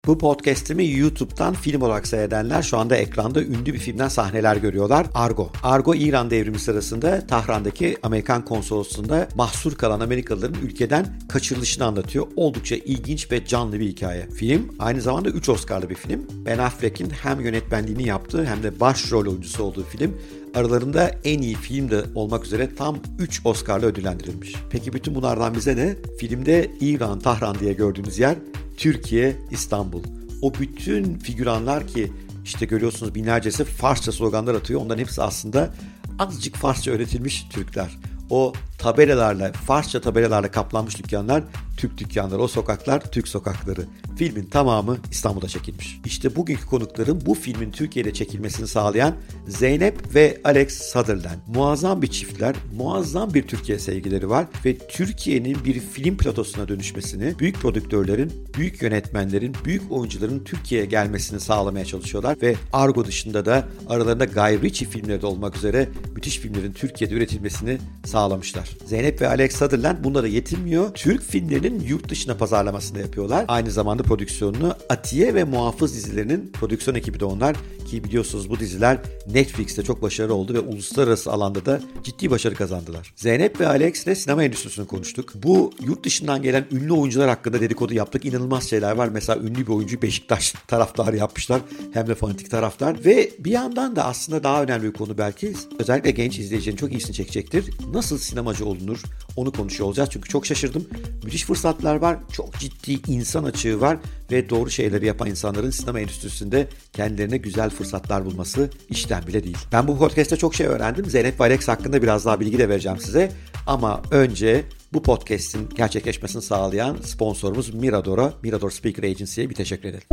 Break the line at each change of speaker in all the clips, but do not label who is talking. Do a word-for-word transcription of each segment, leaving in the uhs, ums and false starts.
Bu podcast'imi YouTube'dan film olarak seyredenler şu anda ekranda ünlü bir filmden sahneler görüyorlar. Argo. Argo, İran devrimi sırasında Tahran'daki Amerikan konsolosluğunda mahsur kalan Amerikalıların ülkeden kaçırılışını anlatıyor. Oldukça ilginç ve canlı bir hikaye. Film aynı zamanda üç Oscar'lı bir film. Ben Affleck'in hem yönetmenliğini yaptığı hem de başrol oyuncusu olduğu film. Aralarında en iyi film de olmak üzere tam üç Oscar'la ödüllendirilmiş. Peki bütün bunlardan bize ne? Filmde İran, Tahran diye gördüğümüz yer Türkiye, İstanbul. O bütün figüranlar ki işte görüyorsunuz binlercesi Farsça sloganlar atıyor. Onların hepsi aslında azıcık Farsça öğretilmiş Türkler. O tabelalarla, Farsça tabelalarla kaplanmış dükkanlar Türk dükkanları, o sokaklar Türk sokakları. Filmin tamamı İstanbul'da çekilmiş. İşte bugünkü konuklarım bu filmin Türkiye'de çekilmesini sağlayan Zeynep ve Alex Sutherland. Muazzam bir çiftler, muazzam bir Türkiye sevgileri var ve Türkiye'nin bir film platosuna dönüşmesini, büyük prodüktörlerin, büyük yönetmenlerin, büyük oyuncuların Türkiye'ye gelmesini sağlamaya çalışıyorlar ve Argo dışında da aralarında Guy Ritchie filmleri de olmak üzere müthiş filmlerin Türkiye'de üretilmesini sağlamışlar. Zeynep ve Alex Sutherland bunlara yetinmiyor. Türk filmlerinin yurt dışına pazarlamasını yapıyorlar. Aynı zamanda prodüksiyonunu Atiye ve Muhafız dizilerinin prodüksiyon ekibi de onlar ki biliyorsunuz bu diziler Netflix'te çok başarılı oldu ve uluslararası alanda da ciddi başarı kazandılar. Zeynep ve Alex ile sinema endüstrisini konuştuk. Bu yurt dışından gelen ünlü oyuncular hakkında dedikodu yaptık. İnanılmaz şeyler var. Mesela ünlü bir oyuncu Beşiktaş taraftarı yapmışlar. Hem de fanatik taraftar. Ve bir yandan da aslında daha önemli bir konu belki özellikle genç izleyicinin çok iyisini çekecektir. Nasıl sinemacı olunur? Onu konuşuyor olacağız. Çünkü çok şaşırdım. Müthiş fırsatlar var. Çok ciddi insan açığı var. Ve doğru şeyleri yapan insanların sinema endüstrisinde kendilerine güzel fırsatlar bulması işten bile değil. Ben bu podcast'te çok şey öğrendim. Zeynep ve Alex hakkında biraz daha bilgi de vereceğim size. Ama önce bu podcast'in gerçekleşmesini sağlayan sponsorumuz Mirador'a, Mirador Speaker Agency'ye bir teşekkür edelim.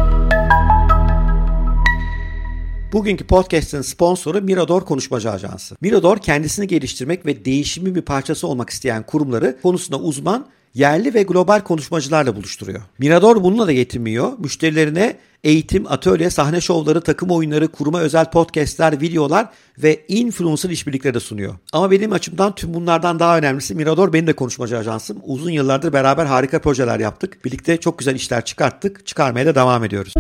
Bugünkü podcast'ın sponsoru Mirador Konuşmacı Ajansı. Mirador kendisini geliştirmek ve değişimin bir parçası olmak isteyen kurumları konusunda uzman, yerli ve global konuşmacılarla buluşturuyor. Mirador bununla da yetinmiyor. Müşterilerine eğitim, atölye, sahne şovları, takım oyunları, kuruma özel podcastler, videolar ve influencer işbirlikleri de sunuyor. Ama benim açımdan tüm bunlardan daha önemlisi Mirador benim de konuşmacı ajansım. Uzun yıllardır beraber harika projeler yaptık. Birlikte çok güzel işler çıkarttık. Çıkarmaya da devam ediyoruz.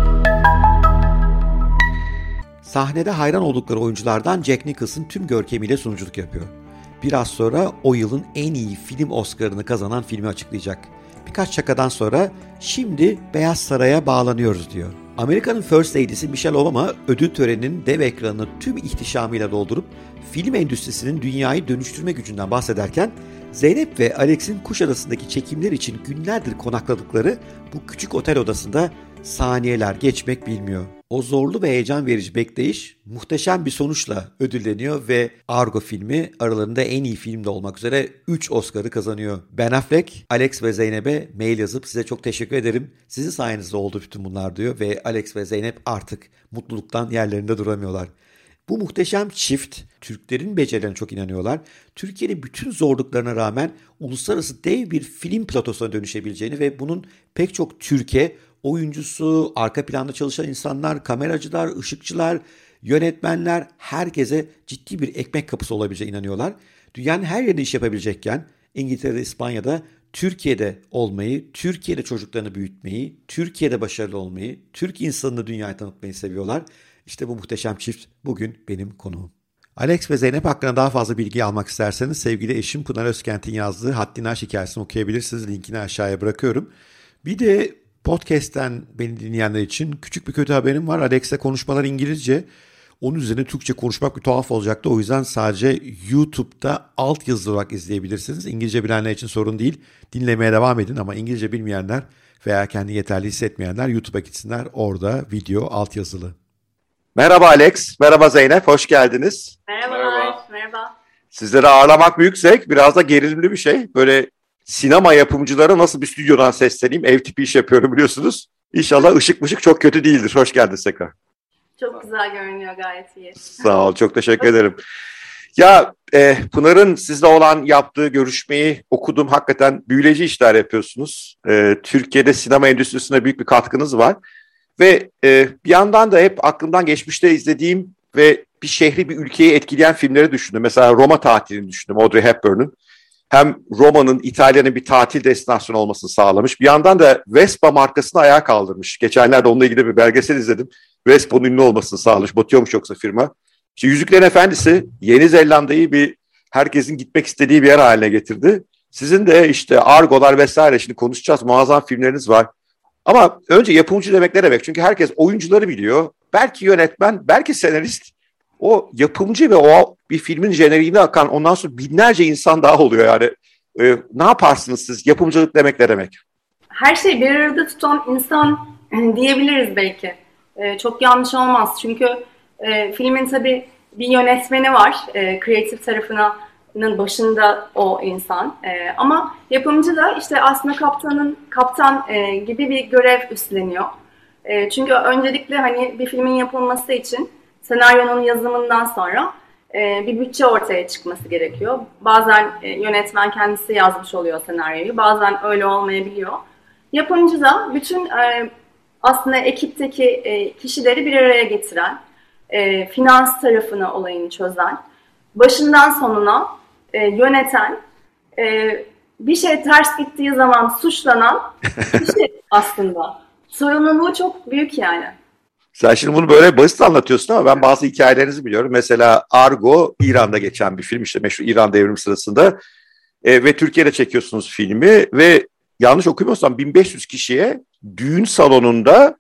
Sahnede hayran oldukları oyunculardan Jack Nicholson tüm görkemiyle sunuculuk yapıyor. Biraz sonra o yılın en iyi film Oscar'ını kazanan filmi açıklayacak. Birkaç şakadan sonra şimdi Beyaz Saray'a bağlanıyoruz diyor. Amerika'nın First Lady'si Michelle Obama ödül töreninin dev ekranını tüm ihtişamıyla doldurup film endüstrisinin dünyayı dönüştürme gücünden bahsederken Zeynep ve Alex'in Kuşadası'ndaki çekimler için günlerdir konakladıkları bu küçük otel odasında saniyeler geçmek bilmiyor. O zorlu ve heyecan verici bekleyiş muhteşem bir sonuçla ödülleniyor ve Argo filmi aralarında en iyi film de olmak üzere üç Oscar'ı kazanıyor. Ben Affleck, Alex ve Zeynep'e mail yazıp size çok teşekkür ederim. Sizin sayenizde oldu bütün bunlar diyor ve Alex ve Zeynep artık mutluluktan yerlerinde duramıyorlar. Bu muhteşem çift Türklerin becerilerine çok inanıyorlar. Türkiye'nin bütün zorluklarına rağmen uluslararası dev bir film platosuna dönüşebileceğini ve bunun pek çok Türkiye oyuncusu, arka planda çalışan insanlar, kameracılar, ışıkçılar, yönetmenler herkese ciddi bir ekmek kapısı olabileceğine inanıyorlar. Dünyanın her yerinde iş yapabilecekken İngiltere'de, İspanya'da, Türkiye'de olmayı, Türkiye'de çocuklarını büyütmeyi, Türkiye'de başarılı olmayı, Türk insanını dünyaya tanıtmayı seviyorlar. İşte bu muhteşem çift bugün benim konuğum. Alex ve Zeynep hakkında daha fazla bilgi almak isterseniz sevgili eşim Pınar Özkent'in yazdığı Haddini Aş hikayesini okuyabilirsiniz. Linkini aşağıya bırakıyorum. Bir de podcast'ten beni dinleyenler için küçük bir kötü haberim var. Alex'le konuşmalar İngilizce. Onun üzerine Türkçe konuşmak bir tuhaf olacaktı. O yüzden sadece YouTube'da alt yazılı olarak izleyebilirsiniz. İngilizce bilenler için sorun değil. Dinlemeye devam edin ama İngilizce bilmeyenler veya kendi yeterli hissetmeyenler YouTube'a gitsinler. Orada video alt yazılı. Merhaba Alex, merhaba Zeynep, hoş geldiniz.
Merhabalar, merhaba. merhaba.
Sizleri ağırlamak büyük zevk, biraz da gerilimli bir şey. Böyle sinema yapımcılara nasıl bir stüdyodan sesleneyim, ev tipi iş yapıyorum biliyorsunuz. İnşallah ışık mışık çok kötü değildir. Hoş geldiniz tekrar.
Çok güzel görünüyor, gayet iyi.
Sağ ol, çok teşekkür ederim. Ya e, Pınar'ın sizle olan yaptığı görüşmeyi okudum. Hakikaten büyüleyici işler yapıyorsunuz. E, Türkiye'de sinema endüstrisine büyük bir katkınız var. Ve e, bir yandan da hep aklımdan geçmişte izlediğim ve bir şehri, bir ülkeyi etkileyen filmleri düşündüm. Mesela Roma Tatili'ni düşündüm, Audrey Hepburn'un. hem Roma'nın, İtalya'nın bir tatil destinasyonu olmasını sağlamış. Bir yandan da Vespa markasını ayağa kaldırmış. Geçenlerde onunla ilgili bir belgesel izledim. Vespa'nın ünlü olmasını sağlamış. Batıyormuş yoksa firma. İşte Yüzüklerin Efendisi Yeni Zelanda'yı bir herkesin gitmek istediği bir yer haline getirdi. Sizin de işte Argo'lar vesaire, şimdi konuşacağız. Muazzam filmleriniz var. Ama önce yapımcı demek ne demek? Çünkü herkes oyuncuları biliyor. Belki yönetmen, belki senarist. O yapımcı ve o bir filmin jeneriğine akan ondan sonra binlerce insan daha oluyor yani. Ee, ne yaparsınız siz? Yapımcılık demek ne demek?
Her şeyi bir arada tutan insan diyebiliriz belki. Ee, çok yanlış olmaz. Çünkü e, filmin tabii bir yönetmeni var. E, kreatif tarafının başında o insan. E, ama yapımcı da işte aslında kaptanın kaptan e, gibi bir görev üstleniyor. E, çünkü öncelikle hani bir filmin yapılması için senaryonun yazımından sonra e, bir bütçe ortaya çıkması gerekiyor. Bazen e, yönetmen kendisi yazmış oluyor senaryoyu, bazen öyle olmayabiliyor. Yapımcı da bütün e, aslında ekipteki e, kişileri bir araya getiren, e, finans tarafını, olayını çözen, başından sonuna e, yöneten, e, bir şey ters gittiği zaman suçlanan kişi aslında. Sorumluluğu çok büyük yani.
Sen şimdi bunu böyle basit anlatıyorsun ama ben bazı hikayelerinizi biliyorum. Mesela Argo İran'da geçen bir film, işte meşhur İran devrimi sırasında e, ve Türkiye'de çekiyorsunuz filmi ve yanlış okumuyorsam bin beş yüz kişiye düğün salonunda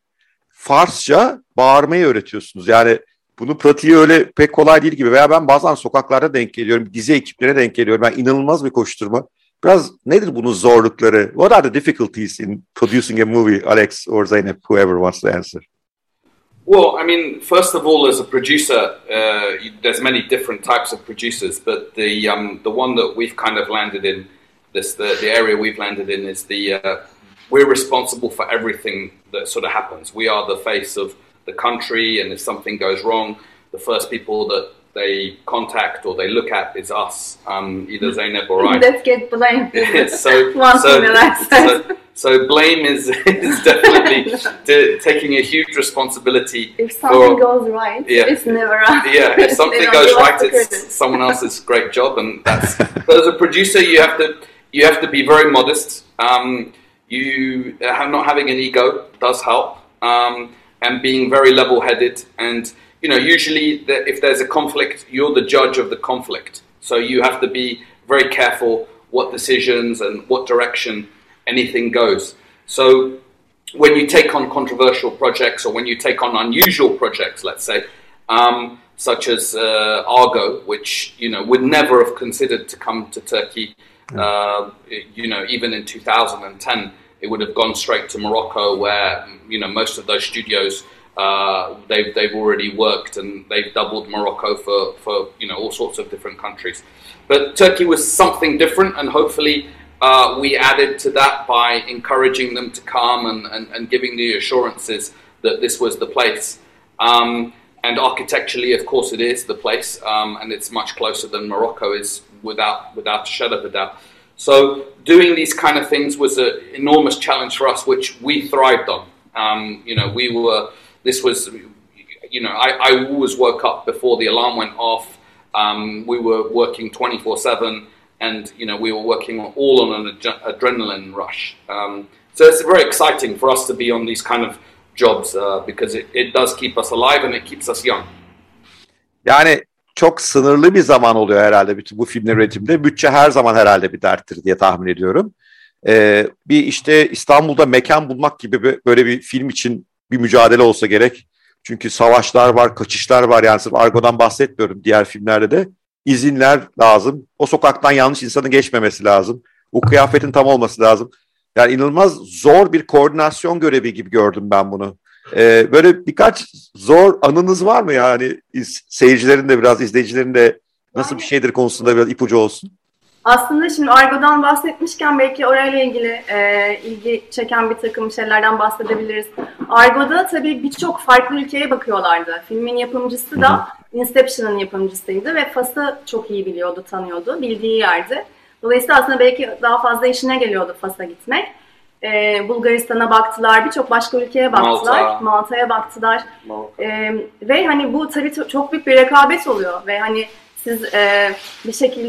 Farsça bağırmayı öğretiyorsunuz. Yani bunun pratiği öyle pek kolay değil gibi, veya ben bazen sokaklarda denk geliyorum, dizi ekiplerine denk geliyorum. Ben inanılmaz bir koşturma. Biraz nedir bunun zorlukları? What are the difficulties in producing a movie, Alex or Zeynep, whoever wants to answer?
Well, I mean, first of all, as a producer, uh, there's many different types of producers, but the um, the one that we've kind of landed in, this the, the area we've landed in is the uh, we're responsible for everything that sort of happens. We are the face of the country, and if something goes wrong, the first people that they contact or they look at is us, um, either Zeynep or I.
Let's get blamed.
so,
One
so, so, so blame is, is definitely t- taking a huge responsibility.
If something
for,
goes right,
yeah,
it's never us.
Yeah, if something goes right, it's someone else's great job, and that's. So as a producer, you have to you have to be very modest. Um, you uh, not having an ego does help, um, and being very level-headed. And you know, usually the, if there's a conflict, you're the judge of the conflict. So you have to be very careful what decisions and what direction anything goes. So when you take on controversial projects, or when you take on unusual projects, let's say, um, such as uh, Argo, which you know would never have considered to come to Turkey, uh, you know, even in two thousand ten, it would have gone straight to Morocco, where you know most of those studios uh, they've they've already worked, and they've doubled Morocco for for you know all sorts of different countries. But Turkey was something different, and hopefully. Uh, we added to that by encouraging them to come and, and, and giving the assurances that this was the place. Um, and architecturally, of course, it is the place, um, and it's much closer than Morocco is, without without a shadow of a doubt. So doing these kind of things was an enormous challenge for us, which we thrived on. Um, you know, we were. This was, you know, I, I always woke up before the alarm went off. Um, we were working twenty-four seven. And, you know, we were working all on an ad- adrenaline rush. Um, so it's very exciting for us to be on these kind of jobs uh, because it, it does keep us alive and it keeps us young.
Yani çok sınırlı bir zaman oluyor herhalde bütün bu filmler üretiminde. Bütçe her zaman herhalde bir derttir diye tahmin ediyorum. Ee, bir işte İstanbul'da mekan bulmak gibi böyle bir film için bir mücadele olsa gerek. Çünkü savaşlar var, kaçışlar var. Yani sırf Argo'dan bahsetmiyorum, diğer filmlerde de. İzinler lazım. O sokaktan yanlış insanın geçmemesi lazım. O kıyafetin tam olması lazım. Yani inanılmaz zor bir koordinasyon görevi gibi gördüm ben bunu. Ee, böyle birkaç zor anınız var mı yani? Seyircilerin de biraz, izleyicilerin de nasıl bir şeydir konusunda biraz ipucu olsun.
Aslında şimdi Argo'dan bahsetmişken belki orayla ilgili e, ilgi çeken bir takım şeylerden bahsedebiliriz. Argo'da tabii birçok farklı ülkeye bakıyorlardı. Filmin yapımcısı da Inception'ın yapımcısıydı ve Fas'ı çok iyi biliyordu, tanıyordu, bildiği yerdi. Dolayısıyla aslında belki daha fazla işine geliyordu Fas'a gitmek. E, Bulgaristan'a baktılar, birçok başka ülkeye baktılar, Malta. Malta'ya baktılar. Malta. E, ve hani bu tabii çok büyük bir rekabet oluyor ve hani siz e, bir şekilde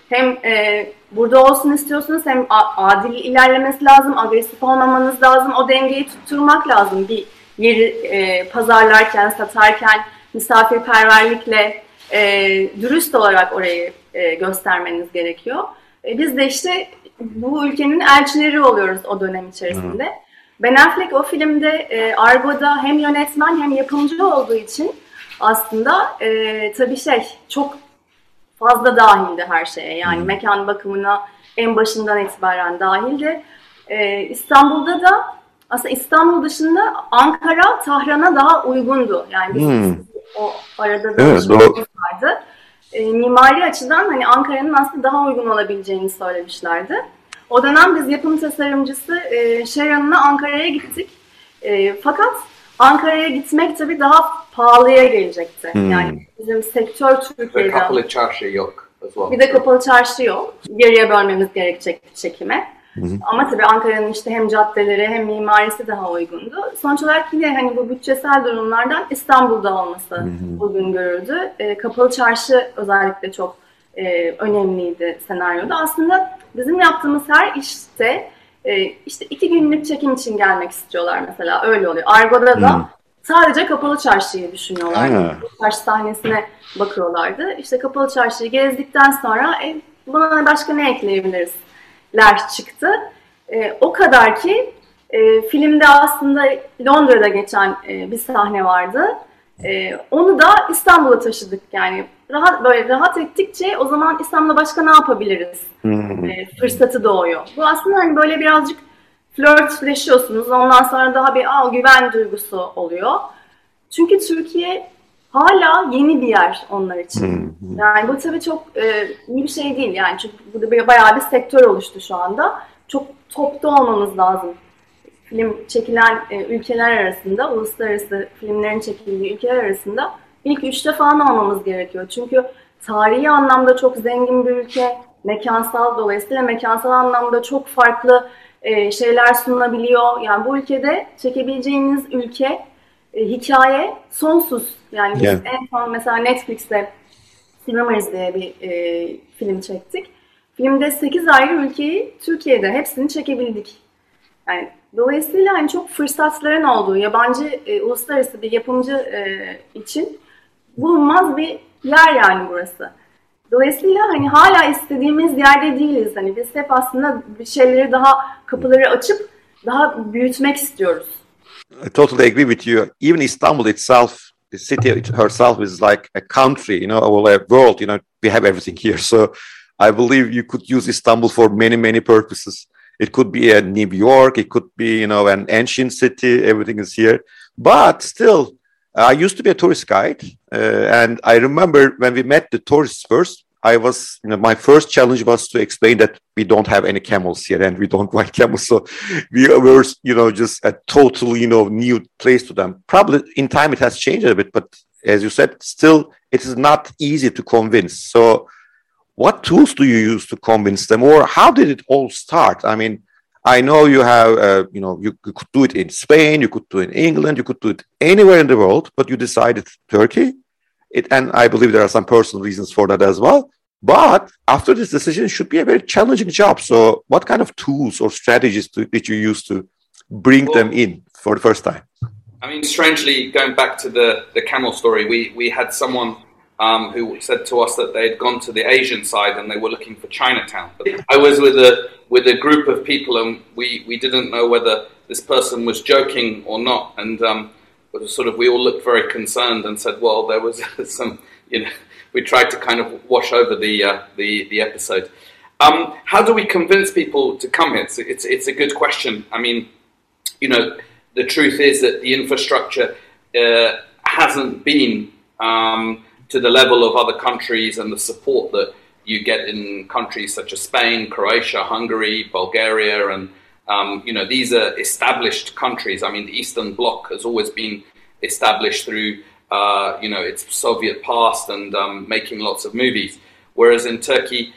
hem e, burada olsun istiyorsunuz hem adil ilerlemesi lazım, agresif olmamanız lazım, o dengeyi tutturmak lazım bir yeri e, pazarlarken, satarken misafirperverlikle e, dürüst olarak orayı e, göstermeniz gerekiyor. E, biz de işte bu ülkenin elçileri oluyoruz o dönem içerisinde. Hı. Ben Affleck o filmde e, Argo'da hem yönetmen hem yapımcı olduğu için aslında e, tabii şey çok fazla dahildi her şeye. Yani hmm. mekan bakımına en başından itibaren dahildi. Ee, İstanbul'da da aslında İstanbul dışında Ankara Tahran'a daha uygundu. Yani biz hmm. o arada da evet, vardı. Ee, mimari açıdan hani Ankara'nın aslında daha uygun olabileceğini söylemişlerdi. O dönem biz yapım tasarımcısı e, Sharon'la Ankara'ya gittik. E, fakat Ankara'ya gitmek tabii daha pahalıya gelecekti. Hmm. Yani bizim sektör Türkiye'de...
Ve kapalı çarşı yok.
Bir de kapalı çarşı yok. Yarıya bölmemiz gerekecek çekime. Hmm. Ama tabii Ankara'nın işte hem caddeleri hem mimarisi daha uygundu. Sonuç olarak yine hani bu bütçesel durumlardan İstanbul'da olması hmm. uygun görüldü. E, kapalı çarşı özellikle çok e, önemliydi senaryoda. Aslında bizim yaptığımız her işte e, işte iki günlük çekim için gelmek istiyorlar mesela. Öyle oluyor. Argo'da da hmm. sadece kapalı çarşıyı düşünüyorlar. Çarşı sahnesine bakıyorlardı. İşte kapalı çarşıyı gezdikten sonra e, buna başka ne ekleyebiliriz? ler çıktı. E, o kadar ki e, filmde aslında Londra'da geçen e, bir sahne vardı. E, onu da İstanbul'a taşıdık. Yani rahat böyle rahat ettikçe o zaman İstanbul'da başka ne yapabiliriz? E, fırsatı doğuyor. Bu aslında hani böyle birazcık flörtleşiyorsunuz. Ondan sonra daha bir aa, güven duygusu oluyor. Çünkü Türkiye hala yeni bir yer onlar için. Yani bu tabii çok e, iyi bir şey değil. Yani çünkü burada bayağı bir sektör oluştu şu anda. Çok topta olmamız lazım. Film çekilen e, ülkeler arasında, uluslararası filmlerin çekildiği ülkeler arasında ilk üçte falan olmamız gerekiyor. Çünkü tarihi anlamda çok zengin bir ülke, mekansal dolayısıyla mekansal anlamda çok farklı e, şeyler sunulabiliyor. Yani bu ülkede çekebileceğiniz ülke, e, hikaye sonsuz. Yani biz yeah. en son mesela Netflix'te Cinemas diye bir e, film çektik. Filmde sekiz ayrı ülkeyi Türkiye'de hepsini çekebildik. Yani dolayısıyla hani çok fırsatların olduğu yabancı e, uluslararası bir yapımcı e, için bulunmaz bir yer yani burası. Dolayısıyla hani hala istediğimiz yerde değiliz. Hani biz hep aslında bir şeyleri daha kapıları açıp daha büyütmek istiyoruz.
I totally agree with you. Even Istanbul itself, the city herself is like a country, you know, or a world, you know, we have everything here. So I believe you could use Istanbul for many, many purposes. It could be a New York, it could be, you know, an ancient city, everything is here. But still, I used to be a tourist guide. Uh, and I remember when we met the tourists first, I was, you know, my first challenge was to explain that we don't have any camels here and we don't ride camels. So we were, you know, just a totally, you know, new place to them. Probably in time it has changed a bit, but as you said, still it is not easy to convince. So what tools do you use to convince them, or how did it all start? I mean, I know you have, uh, you know, you, you could do it in Spain, you could do it in England, you could do it anywhere in the world, but you decided Turkey. It, and I believe there are some personal reasons for that as well. But after this decision, it should be a very challenging job. So what kind of tools or strategies do, did you use to bring well, them in for the first time?
I mean, strangely, going back to the, the camel story, we, we had someone um, who said to us that they had gone to the Asian side and they were looking for Chinatown. I was with a with a group of people and we, we didn't know whether this person was joking or not. And um, sort of we all looked very concerned and said, well, there was some, you know, we tried to kind of wash over the uh, the, the episode. Um, how do we convince people to come here? It's, it's, it's a good question. I mean, you know, the truth is that the infrastructure uh, hasn't been um, to the level of other countries and the support that you get in countries such as Spain, Croatia, Hungary, Bulgaria, and um, you know, these are established countries. I mean, the Eastern Bloc has always been established through uh, you know, its Soviet past and um, making lots of movies. Whereas in Turkey,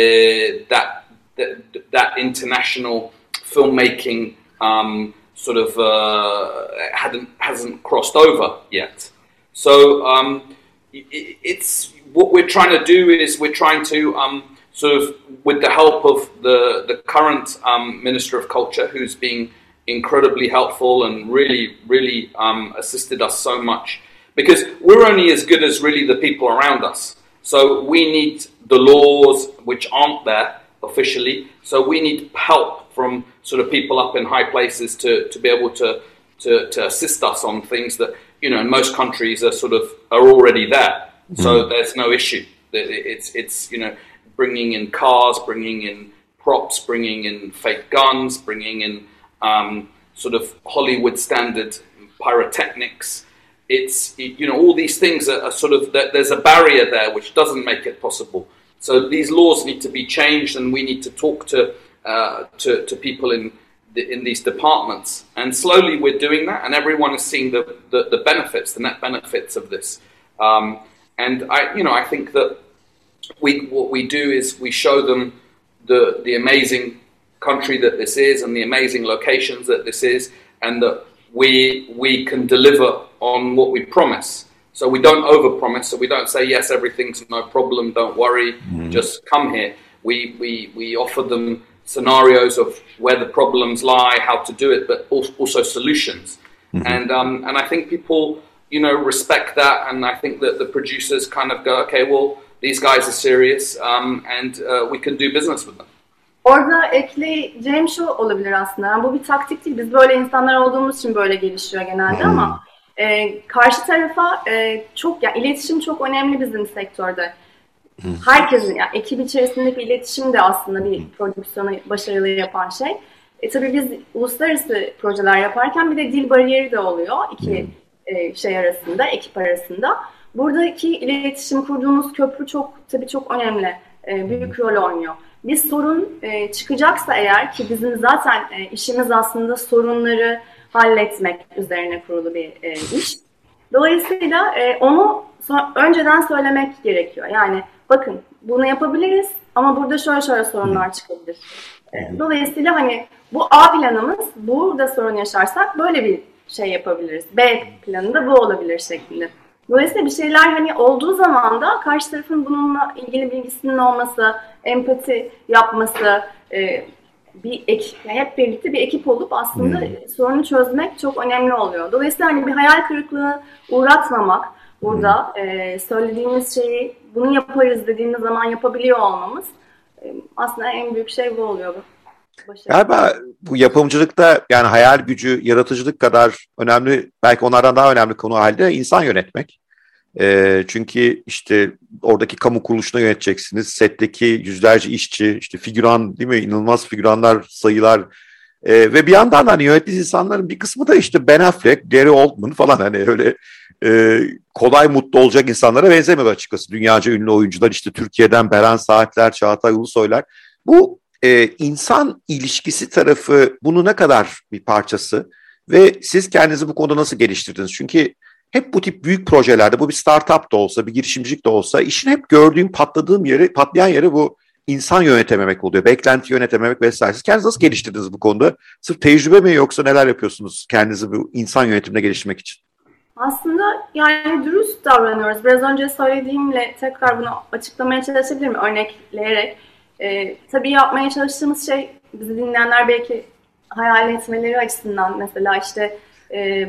uh, that, that that international filmmaking um, sort of uh, hadn't hasn't crossed over yet. So um, it, it's what we're trying to do is we're trying to um, sort of with the help of the, the current um, Minister of Culture, who's been incredibly helpful and really, really um, assisted us so much. Because we're only as good as really the people around us. So we need the laws which aren't there officially. So we need help from sort of people up in high places to, to be able to, to, to assist us on things that, you know, in most countries are sort of are already there. Mm-hmm. So there's no issue. It's, it's, you know, bringing in cars, bringing in props, bringing in fake guns, bringing in um, sort of Hollywood standard pyrotechnics. It's, you know, all these things are, are sort of, there's a barrier there which doesn't make it possible. So these laws need to be changed, and we need to talk to uh, to, to people in the, in these departments. And slowly we're doing that, and everyone is seeing the, the, the benefits, the net benefits of this. Um, and I, you know, I think that we what we do is we show them the the amazing country that this is, and the amazing locations that this is, and that we we can deliver on what we promise. So we don't overpromise. So we don't say, yes, everything's no problem, don't worry, mm-hmm. just come here. We, we, we offer them scenarios of where the problems lie, how to do it, but also solutions. Mm-hmm. And um, and I think people, you know, respect that. And I think that the producers kind of go, okay, well, these guys are serious, um, and uh, we can do business with them.
Orada ekleyeceğim şu olabilir aslında. Yani bu bir taktik değil. Biz böyle insanlar olduğumuz için böyle gelişiyor genelde, hmm. ama e, karşı tarafa e, çok, yani iletişim çok önemli bizim sektörde. Hmm. Herkesin, yani ekip içerisindeki iletişim de aslında bir prodüksiyonu başarılı yapan şey. E, tabii biz uluslararası projeler yaparken bir de dil bariyeri de oluyor iki hmm. e, şey arasında, ekip arasında. Buradaki iletişim, kurduğumuz köprü çok tabii çok önemli, e, büyük rol oynuyor. Bir sorun e, çıkacaksa eğer, ki bizim zaten e, işimiz aslında sorunları halletmek üzerine kurulu bir e, iş. Dolayısıyla e, onu so- önceden söylemek gerekiyor. Yani bakın bunu yapabiliriz ama burada şöyle şöyle sorunlar çıkabilir. E, dolayısıyla hani bu A planımız, burada sorun yaşarsak böyle bir şey yapabiliriz. B planında bu olabilir şeklinde. Dolayısıyla bir şeyler hani olduğu zaman da karşı tarafın bununla ilgili bilgisinin olması, empati yapması, e, bir ekip, hep birlikte bir ekip olup aslında hmm. sorunu çözmek çok önemli oluyor. Dolayısıyla hani bir hayal kırıklığı uğratmamak, burada hmm. e, söylediğimiz şeyi bunu yaparız dediğimiz zaman yapabiliyor olmamız e, aslında en büyük şey bu oluyor. Başarı.
Galiba bu yapımcılıkta yani hayal gücü, yaratıcılık kadar önemli, belki onlardan daha önemli konu halde insan yönetmek. E, çünkü işte oradaki kamu kuruluşunu yöneteceksiniz. Setteki yüzlerce işçi, işte figüran, değil mi? İnanılmaz figüranlar, sayılar. E, ve bir yandan hani yönettiğiniz insanların bir kısmı da işte Ben Affleck, Gary Oldman falan, hani öyle e, kolay mutlu olacak insanlara benzemiyor açıkçası. Dünyaca ünlü oyuncular, işte Türkiye'den Beren Saatler, Çağatay Ulusoylar. Bu e, insan ilişkisi tarafı bunun ne kadar bir parçası ve siz kendinizi bu konuda nasıl geliştirdiniz? Çünkü hep bu tip büyük projelerde, bu bir startup da olsa, bir girişimcilik de olsa, işin hep gördüğüm, patladığım yeri, patlayan yeri bu insan yönetememek oluyor. Beklenti yönetememek vesaire. Siz kendinizi nasıl geliştirdiniz bu konuda? Sırf tecrübe mi, yoksa neler yapıyorsunuz kendinizi bu insan yönetimine geliştirmek için?
Aslında yani dürüst davranıyoruz. Biraz önce söylediğimle tekrar bunu açıklamaya çalışabilirim örnekleyerek. Ee, tabii yapmaya çalıştığımız şey, bizi dinleyenler belki hayal etmeleri açısından, mesela işte e,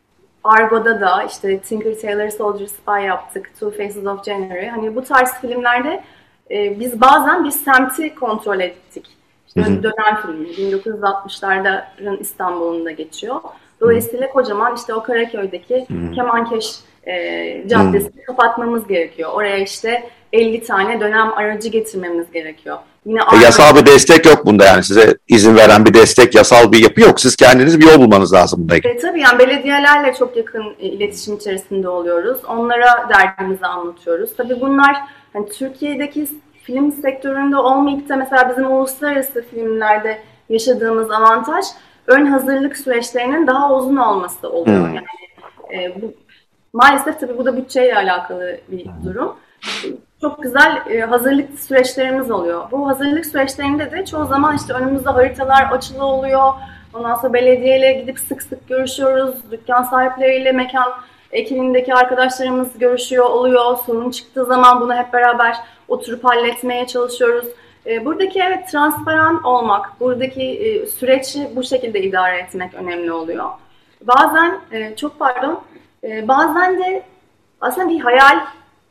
Argo'da da işte Tinker Tailor Soldier Spy yaptık, Two Faces of January. Hani bu tarz filmlerde e, biz bazen bir semti kontrol ettik. İşte hı hı. Dönem filmi, bin dokuz yüz altmışların İstanbul'unda geçiyor. Dolayısıyla kocaman işte o Karaköy'deki hmm. Kemankeş e, caddesini hmm. kapatmamız gerekiyor. Oraya işte elli tane dönem aracı getirmemiz gerekiyor. Yine
e, yasal bir destek yok bunda, yani size izin veren bir destek, yasal bir yapı yok. Siz kendiniz bir yol bulmanız lazım bunda.
E, tabii yani belediyelerle çok yakın e, iletişim içerisinde oluyoruz. Onlara derdimizi anlatıyoruz. Tabii bunlar hani Türkiye'deki film sektöründe olmayıp da mesela bizim uluslararası filmlerde yaşadığımız avantaj, ön hazırlık süreçlerinin daha uzun olması oluyor. Hmm. Yani e, bu, maalesef tabii bu da bütçeyle alakalı bir durum. Çok güzel e, hazırlık süreçlerimiz oluyor. Bu hazırlık süreçlerinde de çoğu zaman işte önümüzde haritalar açılı oluyor. Ondan sonra belediyeyle gidip sık sık görüşüyoruz. Dükkan sahipleriyle, mekan ekibindeki arkadaşlarımız görüşüyor, oluyor. Sorun çıktığı zaman bunu hep beraber oturup halletmeye çalışıyoruz. Buradaki evet transparan olmak, buradaki süreci bu şekilde idare etmek önemli oluyor. Bazen, çok pardon, bazen de aslında bir hayal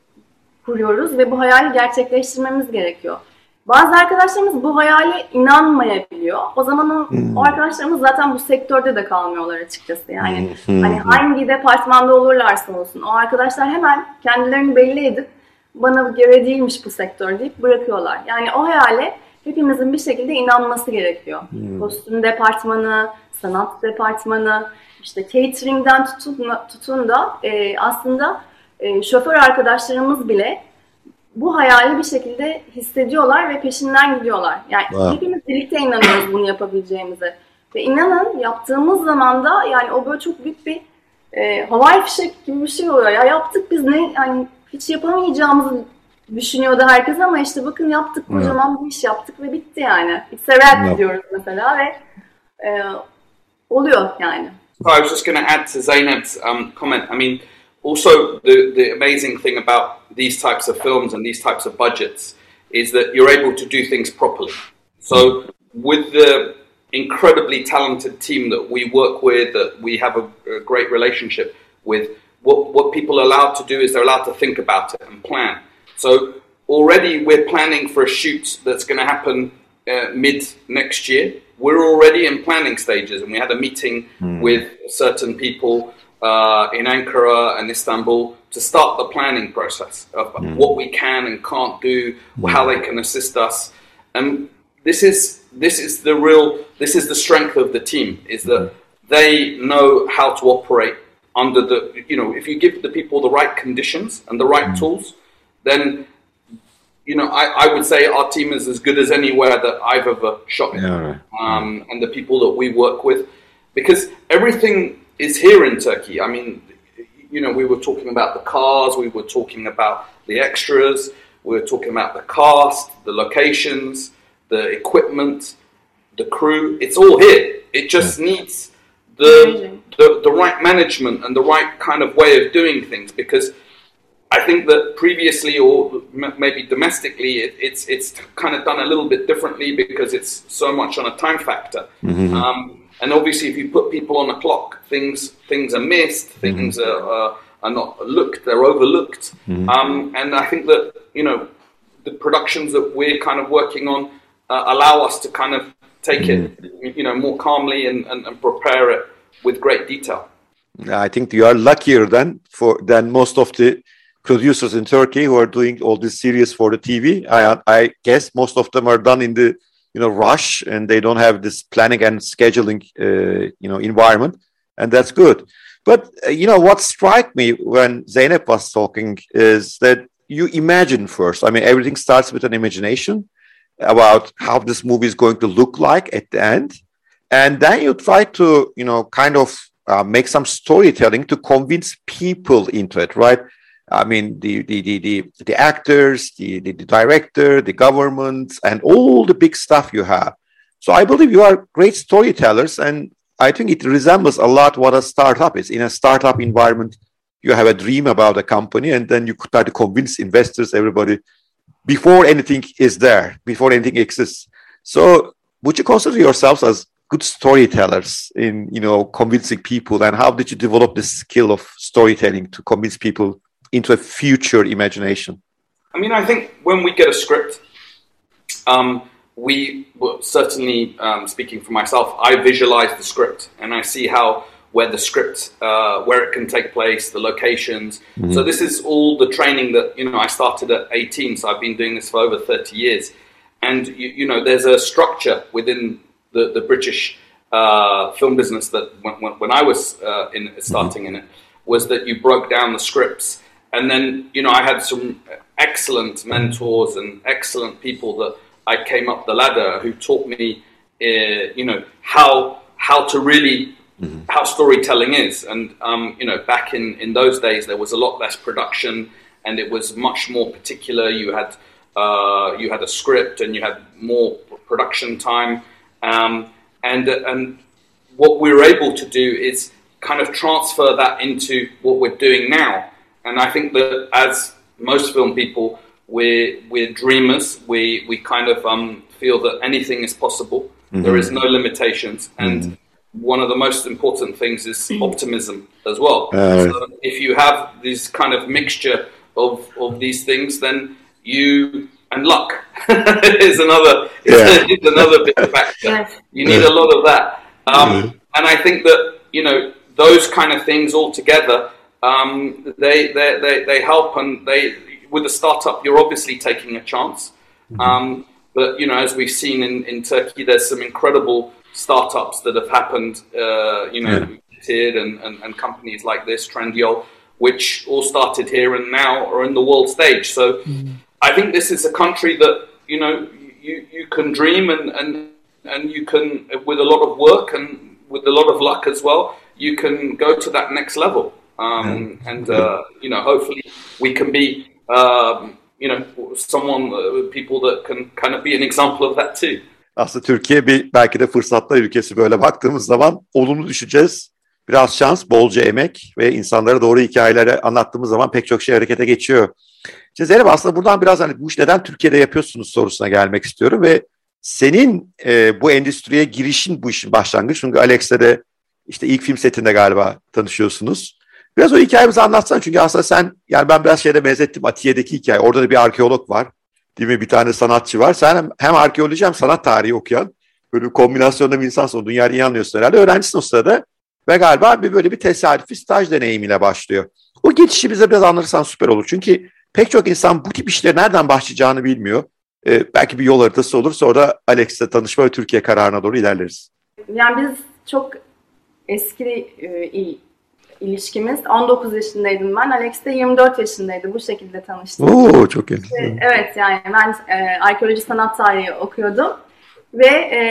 kuruyoruz ve bu hayali gerçekleştirmemiz gerekiyor. Bazı arkadaşlarımız bu hayale inanmayabiliyor. O zaman o, hmm. o arkadaşlarımız zaten bu sektörde de kalmıyorlar açıkçası. Yani hmm. hani hangi departmanda olurlarsa olsun o arkadaşlar hemen kendilerini belli edip bana göre değilmiş bu sektör deyip bırakıyorlar. Yani o hayale hepimizin bir şekilde inanması gerekiyor. Hmm. Kostüm departmanı, sanat departmanı, işte catering'den tutun, tutun da e, aslında e, şoför arkadaşlarımız bile bu hayali bir şekilde hissediyorlar ve peşinden gidiyorlar. Yani wow. hepimiz birlikte inanıyoruz bunu yapabileceğimize. Ve inanın yaptığımız zaman da yani o böyle çok büyük bir e, havai fişek gibi bir şey oluyor. Ya yaptık biz ne yani hiç yapamayacağımızı düşünüyordu herkes ama işte bakın yaptık kocaman hmm. bir iş yaptık ve bitti yani. It's a wrap diyoruz mesela ve e, oluyor yani.
I was just going to add to Zeynep's um, comment. I mean, also the, the amazing thing about these types of films and these types of budgets is that you're able to do things properly. So with the incredibly talented team that we work with, that we have a, a great relationship with, what, what people are allowed to do is they're allowed to think about it and plan. So already we're planning for a shoot that's going to happen uh, mid next year. We're already in planning stages, and we had a meeting mm. with certain people uh, in Ankara and Istanbul to start the planning process of mm. what we can and can't do, mm. how they can assist us. And this is this is the real this is the strength of the team, is that mm. they know how to operate under the, you know, if you give the people the right conditions and the right mm. tools, then, you know, I, I would say our team is as good as anywhere that I've ever shot in. Yeah, right. um, and the people that we work with, because everything is here in Turkey. I mean, you know, we were talking about the cars, we were talking about the extras, we were talking about the cast, the locations, the equipment, the crew. It's all here. It just yeah. needs the, the the right management and the right kind of way of doing things, because I think that previously, or maybe domestically, it, it's it's kind of done a little bit differently because it's so much on a time factor. Mm-hmm. Um, and obviously, if you put people on a clock, things things are missed, things mm-hmm. are, uh, are not looked, they're overlooked. Mm-hmm. Um, and I think that, you know, the productions that we're kind of working on uh, allow us to kind of take mm-hmm. it, you know, more calmly and, and, and prepare it with great detail.
I think you are luckier than for than most of the producers in Turkey who are doing all this series for the T V. I I guess most of them are done in the, you know, rush, and they don't have this planning and scheduling uh, you know, environment, and that's good. But uh, you know, what struck me when Zeynep was talking is that you imagine first. I mean, everything starts with an imagination about how this movie is going to look like at the end, and then you try to, you know, kind of uh, make some storytelling to convince people into it, right? I mean, the the the the, the actors, the, the the director, the government, and all the big stuff you have. So I believe you are great storytellers, and I think it resembles a lot what a startup is. In a startup environment, you have a dream about a company, and then you try to convince investors, everybody, before anything is there, before anything exists. So would you consider yourselves as good storytellers in, you know, convincing people? And how did you develop this skill of storytelling to convince people into a future imagination?
I mean, I think when we get a script, um, we, well, certainly um, speaking for myself, I visualize the script and I see how, where the script, uh, where it can take place, the locations. Mm-hmm. So this is all the training that, you know, I started at eighteen, so I've been doing this for over thirty years. And, you, you know, there's a structure within the, the British uh, film business that when, when, when I was uh, in starting mm-hmm. in it, was that you broke down the scripts. And then, you know, I had some excellent mentors and excellent people that I came up the ladder who taught me, uh, you know, how how to really, mm-hmm. how storytelling is. And, um, you know, back in, in those days, there was a lot less production and it was much more particular. You had uh, you had a script and you had more production time. Um, and and what we were able to do is kind of transfer that into what we're doing now. And I think that as most film people, we're, we're dreamers. We, we kind of um, feel that anything is possible. Mm-hmm. There is no limitations. And mm-hmm. one of the most important things is optimism as well. Uh, so if you have this kind of mixture of, of these things, then you, and luck is another, yeah. is another big factor. Yes. You need yeah. a lot of that. Um, mm-hmm. And I think that, you know, those kind of things all together, um, they, they, they, they help, and they, with a startup, you're obviously taking a chance. Mm-hmm. Um, but, you know, as we've seen in, in Turkey, there's some incredible startups that have happened, uh, you know, yeah. and, and, and companies like this, Trendyol, which all started here and now are in the world stage. So mm-hmm. I think this is a country that, you know, you, you can dream and, and, and you can, with a lot of work and with a lot of luck as well, you can go to that next level. Um, yeah. And, uh, you know, hopefully we can be, um, you know, someone, uh, people that can kind of be an example of that too.
Aslında Türkiye bir belki de fırsatlar ülkesi, böyle baktığımız zaman olumlu düşeceğiz. Biraz şans, bolca emek ve insanlara doğru hikayeleri anlattığımız zaman pek çok şey harekete geçiyor. İşte Zeynep, aslında buradan biraz hani bu iş neden Türkiye'de yapıyorsunuz sorusuna gelmek istiyorum ve senin e, bu endüstriye girişin, bu işin başlangıcı, çünkü Alex'le de işte ilk film setinde galiba tanışıyorsunuz. Biraz o hikayemizi anlatsan, çünkü aslında sen, yani ben biraz şeyde benzettim, Atiye'deki hikaye, orada da bir arkeolog var. Değil mi? Bir tane sanatçı var. Sen hem, hem arkeoloji hem sanat tarihi okuyan böyle bir kombinasyonda bir insansın. O dünyayı iyi anlıyorsun herhalde. Öğrencisin o sırada. Ve galiba bir böyle bir tesadüfi staj deneyimiyle başlıyor. O geçişi bize biraz anlatırsan süper olur. Çünkü pek çok insan bu tip işlere nereden başlayacağını bilmiyor. Ee, belki bir yol haritası olur. Sonra da Alex'le tanışma ve Türkiye kararına doğru ilerleriz.
Yani biz çok eski e, il, ilişkimiz. on dokuz yaşındaydım ben. Alex de yirmi dört yaşındaydı. Bu şekilde tanıştık.
Oo, çok iyi.
Evet, yani ben e, arkeoloji sanat tarihi okuyordum. Ve e,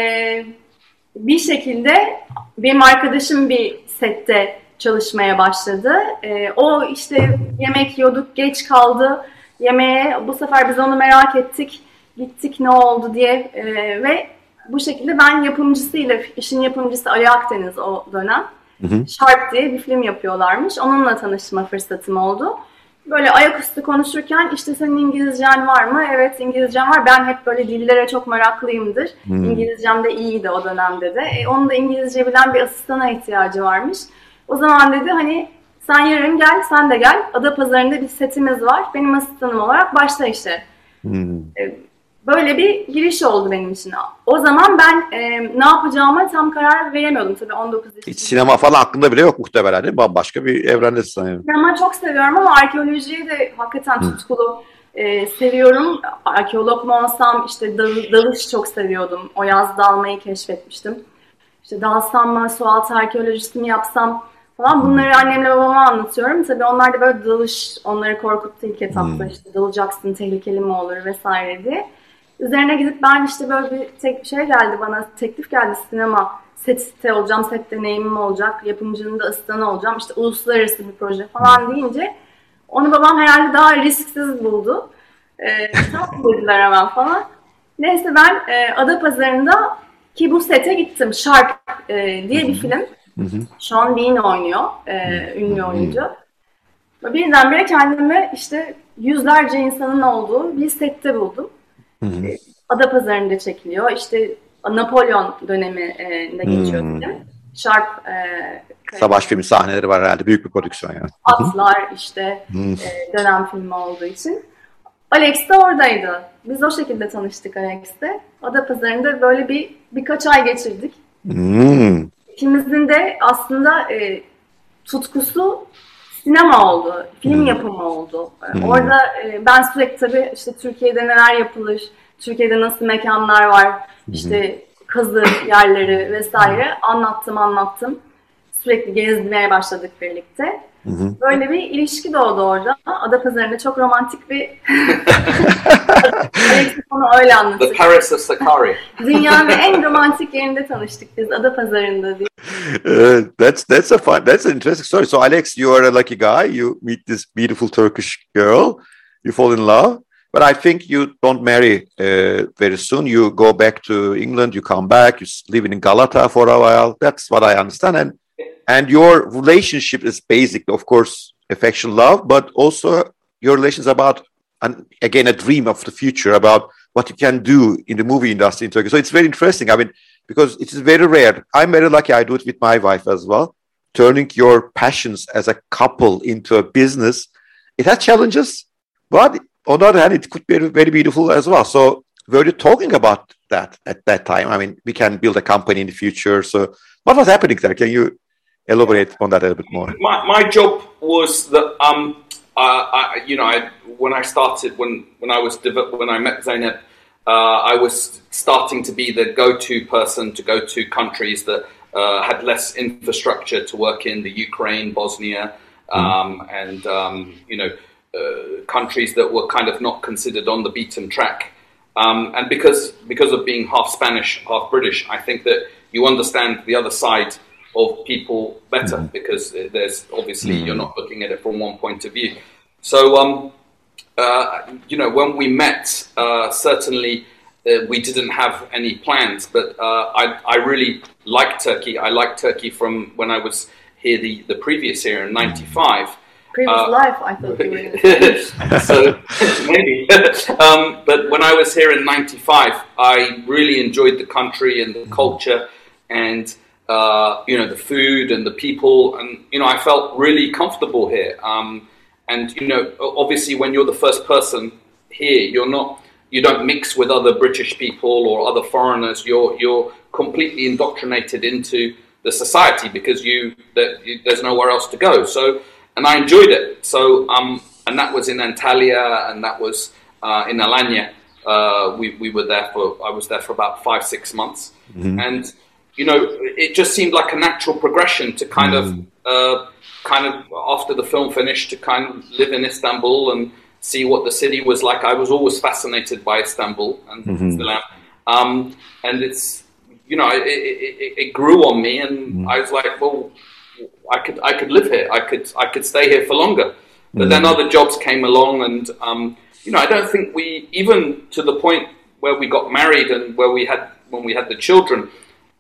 bir şekilde benim arkadaşım bir sette çalışmaya başladı. E, o işte yemek yiyorduk, geç kaldı yemeğe. Bu sefer biz onu merak ettik. Gittik ne oldu diye e, ve bu şekilde ben yapımcısıyla, işin yapımcısı Ali Akdeniz o dönem. Hı hı. Sharp diye bir film yapıyorlarmış. Onunla tanışma fırsatım oldu. Böyle ayaküstü konuşurken işte senin İngilizcen var mı? Evet, İngilizcem var. Ben hep böyle dillere çok meraklıyımdır. Hmm. İngilizcem de iyiydi o dönemde de. E, onun da İngilizce bilen bir asistana ihtiyacı varmış. O zaman dedi hani sen yarın gel, sen de gel. Adapazarı'nda bir setimiz var. Benim asistanım olarak başla işe. Hmm. E, böyle bir giriş oldu benim için. O zaman ben e, ne yapacağıma tam karar veremiyordum tabii on dokuz yaşında.
Hiç sinema falan aklında bile yok muhtemelen değil mi? Bambaşka bir evrendesin sanıyorum.
Sinema çok seviyorum ama arkeolojiyi de hakikaten tutkulu e, seviyorum. Arkeolog mu olsam, işte dal, dalış çok seviyordum. O yaz dalmayı keşfetmiştim. İşte dalsam mı, sualtı arkeolojisi mi yapsam falan, bunları annemle babama anlatıyorum. Tabii onlar da böyle dalış, onları korkuttu ilk etapta. Hmm. İşte dalacaksın, tehlikeli mi olur vesaire diye. Üzerine gidip ben işte böyle bir tek şey geldi bana, teklif geldi, sinema sette olacağım, set deneyimim olacak, yapımcının da asistanı olacağım, işte uluslararası bir proje falan deyince onu babam herhalde daha risksiz buldu. Ee, tamam dediler hemen falan. Neyse ben e, Adapazarı'nda ki bu sete gittim. Sharp e, diye bir film. Sean Bean oynuyor, e, ünlü oyuncu. Birdenbire kendimi işte yüzlerce insanın olduğu bir sette buldum. Hı hı. Adapazarı'nda çekiliyor. İşte Napolyon döneminde geçiyor film. Hmm. Sharp e,
savaş filmi sahneleri var herhalde. Büyük bir prodüksiyon yani.
Atlar işte e, dönem filmi olduğu için. Alex de oradaydı. Biz o şekilde tanıştık Alex'te. Adapazarı'nda böyle bir birkaç ay geçirdik. Hmm. İkimizin de aslında e, tutkusu sinema oldu, film hmm. yapımı oldu. Hmm. Orada e, ben sürekli tabii işte Türkiye'de neler yapılır, Türkiye'de nasıl mekanlar var, hmm. işte kazı yerleri vesaire anlattım anlattım. Sürekli gezmeye başladık birlikte. Hmm. Böyle bir ilişki doğdu orada. Adapazarı'nda çok romantik bir... Onu öyle anlatıyor.
The Paris of Sakari.
Dünyanın en romantik yerinde tanıştık biz, Adapazarı'nda diye.
Uh, that's that's a fun that's an interesting story. So Alex, you are a lucky guy. You meet this beautiful Turkish girl. You fall in love. But I think you don't marry uh, very soon. You go back to England. You come back. You live in Galata for a while. That's what I understand. And And your relationship is basically, of course, affection, love, but also your relations about, and again, a dream of the future about what you can do in the movie industry in Turkey. So it's very interesting. I mean, because it is very rare. I'm very lucky. I do it with my wife as well. Turning your passions as a couple into a business, it has challenges, but on the other hand, it could be very beautiful as well. So were you talking about that at that time? I mean, we can build a company in the future. So what was happening there? Can you elaborate on that a little bit more?
My my job was that um uh, I you know I when I started when when I was when I met Zeynep, uh, I was starting to be the go-to person to go to countries that uh, had less infrastructure to work in, the Ukraine, Bosnia, um, mm. and um, you know uh, countries that were kind of not considered on the beaten track. Um, and because because of being half Spanish, half British, I think that you understand the other side of people better, mm. because there's obviously mm. you're not looking at it from one point of view. So, um, uh, you know, when we met, uh, certainly uh, we didn't have any plans, but uh, I, I really like Turkey. I liked Turkey from when I was here the, the previous year in ninety-five.
Previous uh, life, I thought you were in
So, maybe. um, but when I was here in ninety-five, I really enjoyed the country and the culture and Uh, you know, the food and the people, and, you know, I felt really comfortable here. Um, and, you know, obviously when you're the first person here, you're not, you don't mix with other British people or other foreigners. You're, you're completely indoctrinated into the society because you, that, you, there's nowhere else to go. So, and I enjoyed it. So, um, and that was in Antalya, and that was uh, in Alanya. Uh, we, we were there for, I was there for about five, six months. Mm-hmm. And, you know, it just seemed like a natural progression to kind mm. of, uh, kind of after the film finished, to kind of live in Istanbul and see what the city was like. I was always fascinated by Istanbul, and mm-hmm. still am. Um, and it's, you know, it, it, it grew on me, and mm. I was like, well, I could, I could live here. I could, I could stay here for longer. But mm. then other jobs came along, and um, you know, I don't think we, even to the point where we got married and where we had, when we had the children,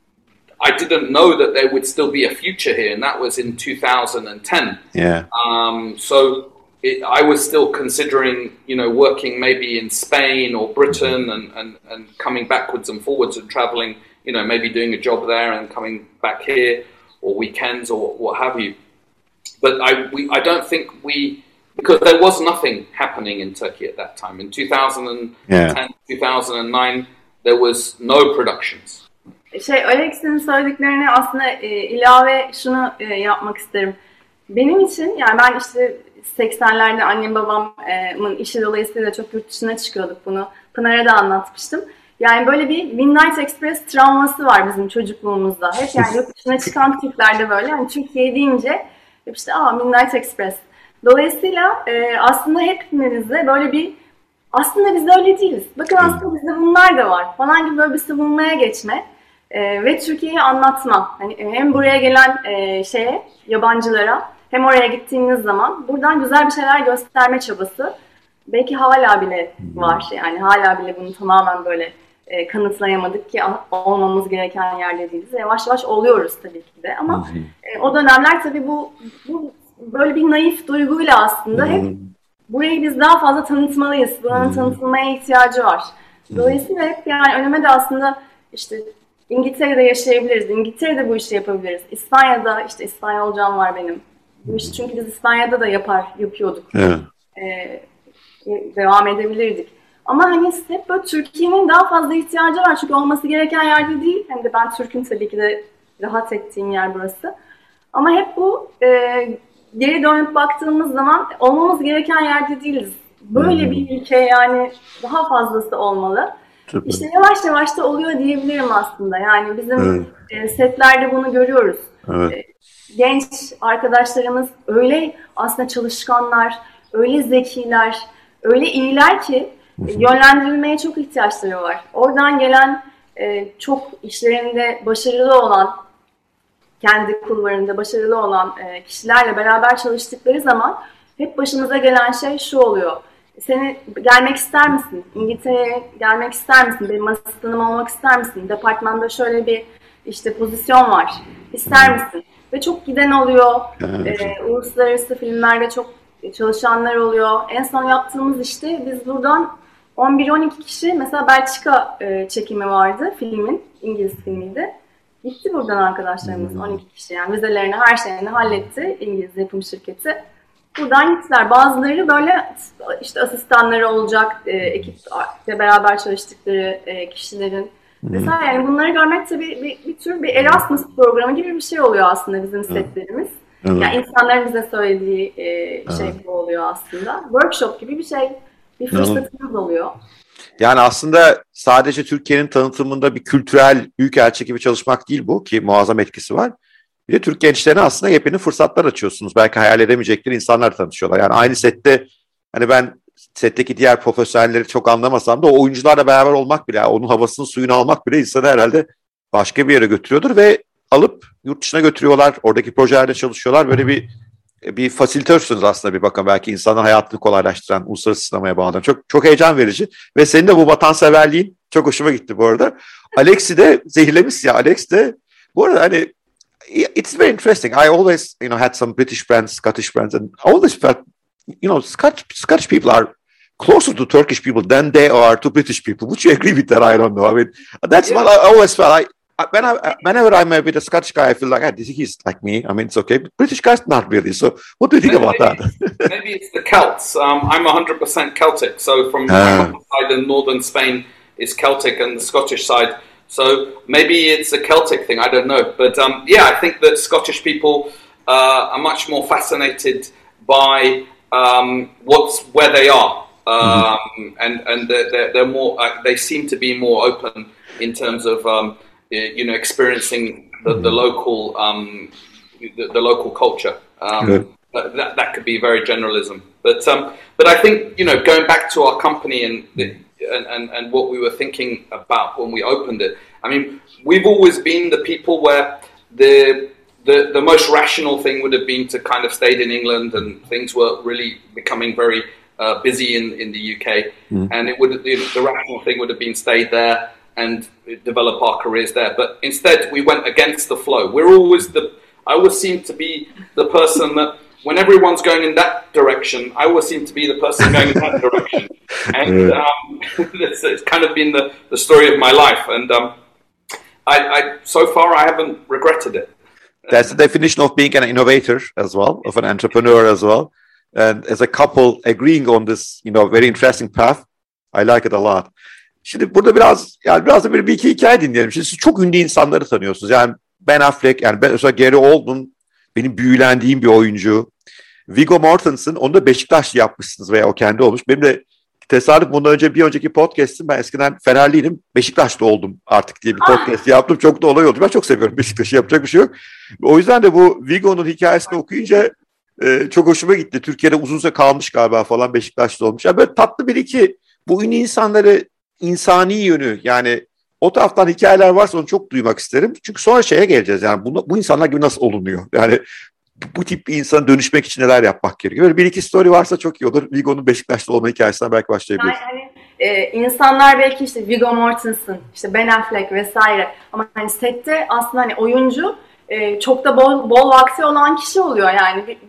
I didn't know that there would still be a future here, and that was in two thousand ten.
Yeah.
Um, so it, I was still considering, you know, working maybe in Spain or Britain, and, and, and coming backwards and forwards and traveling, you know, maybe doing a job there and coming back here, or weekends or what have you. But I, we, I don't think we, because there was nothing happening in Turkey at that time. In two thousand ten, yeah. two thousand nine, there was no productions.
Şey, Alex'in söylediklerine aslında e, ilave şunu e, yapmak isterim. Benim için, yani ben işte seksenlerde annem babamın işi dolayısıyla çok yurt dışına çıkıyorduk, bunu Pınar'a da anlatmıştım. Yani böyle bir Midnight Express travması var bizim çocukluğumuzda. Hep yani yurt dışına çıkan Türklerde böyle, yani Türkiye deyince hep işte aa Midnight Express. Dolayısıyla e, aslında hepimizde böyle bir, aslında biz de öyle değiliz. Bakın aslında bizde bunlar da var falan gibi böyle bir savunmaya geçme. Ee, ve Türkiye'yi anlatma. Hani hem buraya gelen e, şeye, yabancılara, hem oraya gittiğiniz zaman buradan güzel bir şeyler gösterme çabası belki hala bile var. Yani hala bile bunu tamamen böyle e, kanıtlayamadık ki olmamız gereken yerde değiliz. Yavaş yavaş oluyoruz tabii ki de, ama e, o dönemler tabii bu, bu böyle bir naif duyguyla aslında hep burayı biz daha fazla tanıtmalıyız. Buranın tanıtılmaya ihtiyacı var. Dolayısıyla hep yani önüme de aslında işte İngiltere'de yaşayabiliriz, İngiltere'de bu işi yapabiliriz. İspanya'da, işte İspanyolcam var benim. Bu işi çünkü biz İspanya'da da yapar, yapıyorduk. Evet. Ee, devam edebilirdik. Ama hani hep böyle Türkiye'nin daha fazla ihtiyacı var. Çünkü olması gereken yerde değil. Hem de ben Türk'ün tabii ki de rahat ettiğim yer burası. Ama hep bu e, geri dönüp baktığımız zaman olmamız gereken yerde değiliz. Böyle hmm. bir ülke, yani daha fazlası olmalı. Tabii. İşte yavaş yavaş da oluyor diyebilirim aslında. Yani bizim evet. setlerde bunu görüyoruz. Evet. Genç arkadaşlarımız öyle aslında çalışkanlar, öyle zekiler, öyle iyiler ki hı hı. yönlendirilmeye çok ihtiyaçları var. Oradan gelen çok işlerinde başarılı olan, kendi kulvarında başarılı olan kişilerle beraber çalıştıkları zaman hep başımıza gelen şey şu oluyor. Seni gelmek ister misin? İngiltere'ye gelmek ister misin? Benim asistanım olmak ister misin? Departmanda şöyle bir işte pozisyon var. İster misin? ve çok giden oluyor. Evet. Ee, uluslararası filmlerde çok çalışanlar oluyor. En son yaptığımız işte biz buradan on bir on iki kişi, mesela Belçika e, çekimi vardı filmin, İngiliz filmiydi. Gitti buradan arkadaşlarımız hmm. on iki kişi, yani vizelerini, her şeyini halletti İngiliz yapım şirketi. Buradan gittiler. Bazıları böyle işte asistanları olacak, e, ekiple beraber çalıştıkları e, kişilerin. Hmm. Mesela yani bunları görmek tabii bir, bir tür bir Erasmus programı gibi bir şey oluyor aslında bizim setlerimiz. Hmm. Yani insanların bize söylediği e, şey hmm. bu oluyor aslında. Workshop gibi bir şey, bir fırsatımız oluyor.
Yani aslında sadece Türkiye'nin tanıtımında bir kültürel büyükelçi gibi çalışmak değil bu, ki muazzam etkisi var. Bir de Türk gençlerine aslında yepyeni fırsatlar açıyorsunuz. Belki hayal edemeyecekleri insanlar tanışıyorlar. Yani aynı sette, hani ben setteki diğer profesyonelleri çok anlamasam da o oyuncularla beraber olmak bile, onun havasını suyunu almak bile insanı herhalde başka bir yere götürüyordur ve alıp yurt dışına götürüyorlar. Oradaki projelerde çalışıyorlar. Böyle bir bir fasilitörsünüz aslında bir bakın. Belki insanın hayatını kolaylaştıran, uluslararası sinemaya bağlanan. Çok çok heyecan verici. Ve senin de bu vatanseverliğin çok hoşuma gitti bu arada. Alex'i de zehirlemiş ya. Alex de bu arada hani it's very interesting. I always, you know, had some British friends, Scottish friends, and I always felt, you know, Scottish, Scottish people are closer to Turkish people than they are to British people. Would you agree with that? I don't know. I mean, that's yeah. what I always felt. I, When I, whenever I'm with a Scottish guy, I feel like, ah, he's like me. I mean, it's okay. But British guys, not really. So what do you think maybe, about that?
Maybe it's the Celts. Um, I'm one hundred percent Celtic. So from uh. my side in northern Spain is Celtic and the Scottish side. So maybe it's a Celtic thing. I don't know. But um, yeah, I think that Scottish people uh, are much more fascinated by um, what's where they are. Um, mm-hmm. And, and they're, they're more, uh, they seem to be more open in terms of... Um, you know, experiencing the, the local, um, the, the local culture. Um, that that could be very generalism, but um, but I think, you know, going back to our company and, the, and and and what we were thinking about when we opened it. I mean, we've always been the people where the the the most rational thing would have been to kind of stayed in England, and things were really becoming very uh, busy in in the U K, mm. and it would the, the rational thing would have been stayed there and develop our careers there. But instead, we went against the flow. We're always the, I always seem to be the person that, when everyone's going in that direction, I always seem to be the person going in that direction. And um, it's, it's kind of been the, the story of my life. And um, I, I, so far, I haven't regretted it.
That's the definition of being an innovator as well, of an entrepreneur as well. And as a couple agreeing on this, you know, very interesting path, I like it a lot. Şimdi burada biraz, yani biraz da böyle bir iki hikaye dinleyelim. Şimdi siz çok ünlü insanları tanıyorsunuz. Yani Ben Affleck, yani ben mesela Gary Oldman, benim büyülendiğim bir oyuncu. Viggo Mortensen, onu da Beşiktaşlı yapmışsınız veya o kendi olmuş. Benim de tesadüf, bundan önce bir önceki podcast'im, ben eskiden Fenerliydim, Beşiktaşlı oldum artık diye bir podcast yaptım. Çok da olay oldu. Ben çok seviyorum Beşiktaş'ı, yapacak bir şey yok. O yüzden de bu Viggo'nun hikayesini okuyunca e, çok hoşuma gitti. Türkiye'de uzun süre kalmış galiba falan, Beşiktaşlı olmuş. Yani böyle tatlı bir iki, bu ünlü insanları insani yönü, yani o taraftan hikayeler varsa onu çok duymak isterim. Çünkü sonra şeye geleceğiz, yani bu, bu insanlar gibi nasıl olunuyor? Yani bu tip bir insana dönüşmek için neler yapmak gerekiyor? Böyle bir iki story varsa çok iyi olur. Viggo'nun Beşiktaş'ta olma hikayesinden belki başlayabiliriz. Yani
hani, e, insanlar belki işte Viggo Mortensen, işte Ben Affleck vesaire, ama hani sette aslında hani oyuncu e, çok da bol, bol vakti olan kişi oluyor. Yani bir,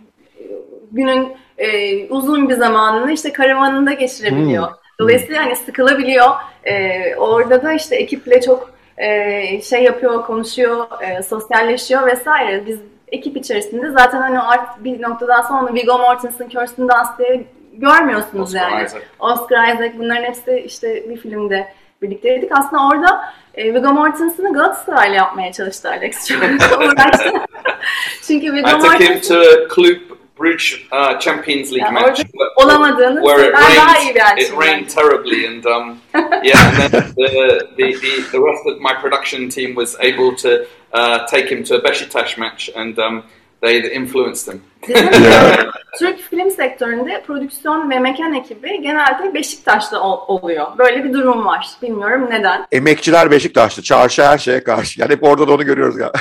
günün e, uzun bir zamanını işte karavanında geçirebiliyor. Hmm. Dolayısıyla hani sıkılabiliyor. Ee, orada da işte ekiple çok e, şey yapıyor, konuşuyor, e, sosyalleşiyor vesaire. Biz ekip içerisinde zaten hani artık bir noktadan sonra Viggo Mortensen, Kirsten Dunst diye görmüyorsunuz Oscar yani. Isaac. Oscar Isaac, bunların hepsi işte bir filmde birlikteydik. Aslında orada e, Viggo Mortensen'ı Galatasaray'la yapmaya çalıştı Alex. Çok uğraştı. Çünkü Viggo Mortensen...
Bruges uh, Champions League
yeah,
match
olamadığını
where it rained, it rained terribly, and um, yeah, and then the, the, the, the rest of my production team was able to uh, take him to a Beşiktaş match, and um, they influenced him.
Bizim Türk film sektöründe prodüksiyon ve mekan ekibi genelde Beşiktaş'ta ol, oluyor. Böyle bir durum var. Bilmiyorum neden.
Emekçiler Beşiktaş'ta, çarşı her şeye karşı. Yani hep orada da onu görüyoruz ya.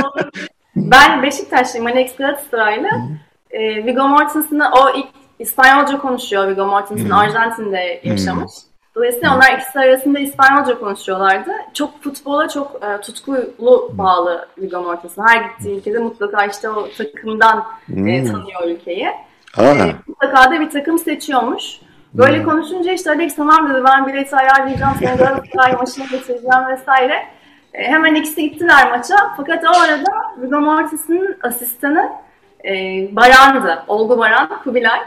Ben Beşiktaşlıyım, Alex Galatasaraylı. Viggo Mortensen'ı, o ilk İspanyolca konuşuyor. Viggo Mortensen hmm. Arjantin'de yaşamış. Hmm. Dolayısıyla onlar ikisi arasında İspanyolca konuşuyorlardı. Çok futbola çok e, tutkulu bağlı Viggo Mortensen. Her gittiği ülkede mutlaka işte o takımdan e, tanıyor ülkeyi. E, mutlaka da bir takım seçiyormuş. Böyle hmm. konuşunca işte Alex tamam dedi, ben bileti ayarlayacağım, seni Galatasaray maçına getireceğim vesaire. E, hemen ikisi gittiler maça. Fakat o arada Viggo Mortensen'in asistanı e, Baran'dı. Olgu Baran, Kubilay.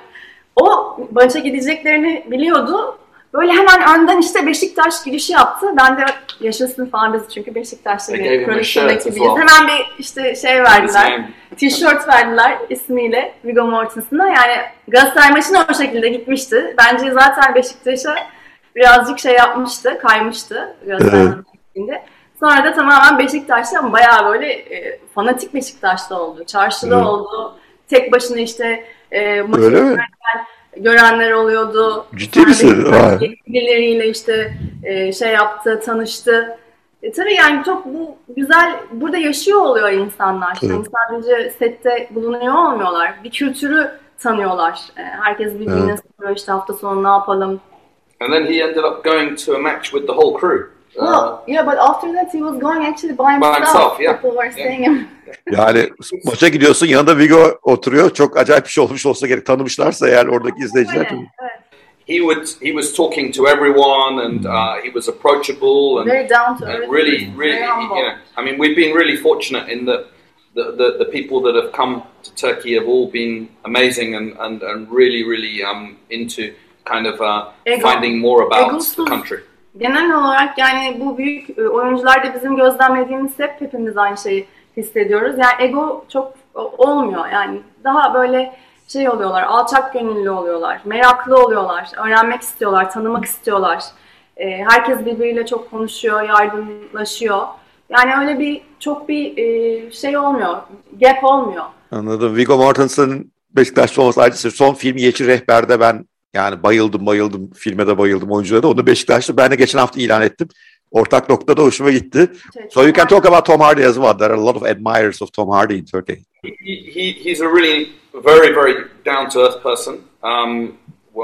O maça gideceklerini biliyordu. Böyle hemen önden işte Beşiktaş girişi yaptı. Ben de yaşasın falan biz çünkü Beşiktaş'ta bir prodüksiyon ekibiyiz. Hemen bir işte şey verdiler, tişört verdiler ismiyle Viggo Mortensen'a. Yani Galatasaray maçına o şekilde gitmişti. Bence zaten Beşiktaş'a birazcık şey yapmıştı, kaymıştı Galatasaray maçında. Sonra da tamamen Beşiktaş'ta ama bayağı böyle e, fanatik Beşiktaş'ta oldu. Çarşıda hmm. oldu. Tek başına işte e, maçı görenler oluyordu.
Ciddi misin?
Birileriyle işte e, şey yaptı, tanıştı. E, tabii yani çok bu güzel, burada yaşıyor oluyor insanlar. Evet. Yani sadece sette bulunuyor olmuyorlar. Bir kültürü tanıyorlar. E, herkes birbirine evet. soruyor işte hafta sonu ne yapalım.
And then he ended up going to a match with the whole crew.
Well, uh, yeah, but after that he was going actually by himself. By himself, yeah. People were saying him.
Yani maça gidiyorsun, yanında Viggo oturuyor. Çok acayip bir şey olmuş olsa gerek, tanımışlarsa eğer oradaki izleyiciler.
Evet, evet.
He would he was talking to everyone and uh, he was approachable and
very down to earth.
Really, really, you know, I mean, we've been really fortunate in that the, the the people that have come to Turkey have all been amazing and and, and really, really um into kind of uh, Ego, finding more about egosuz. The country.
Genel olarak yani bu büyük oyuncular da bizim gözlemlediğimiz hep hepimiz aynı şeyi hissediyoruz. Yani ego çok olmuyor. Yani daha böyle şey oluyorlar, alçak gönüllü oluyorlar, meraklı oluyorlar, öğrenmek istiyorlar, tanımak istiyorlar. Herkes birbiriyle çok konuşuyor, yardımlaşıyor. Yani öyle bir çok bir şey olmuyor, gap olmuyor.
Anladım. Viggo Mortensen'ın Beşiktaşlı olması ayrıca son film Yeşil Rehber'de ben yani bayıldım bayıldım. Filme de bayıldım, oyunculara da. Onu Beşiktaşlı. Ben de geçen hafta ilan ettim. Ortak noktada hoşuma gitti. So you can talk about Tom Hardy as well. There are a lot of admirers of Tom Hardy in Turkey.
He, he, he's a really very, very down-to-earth person. Um,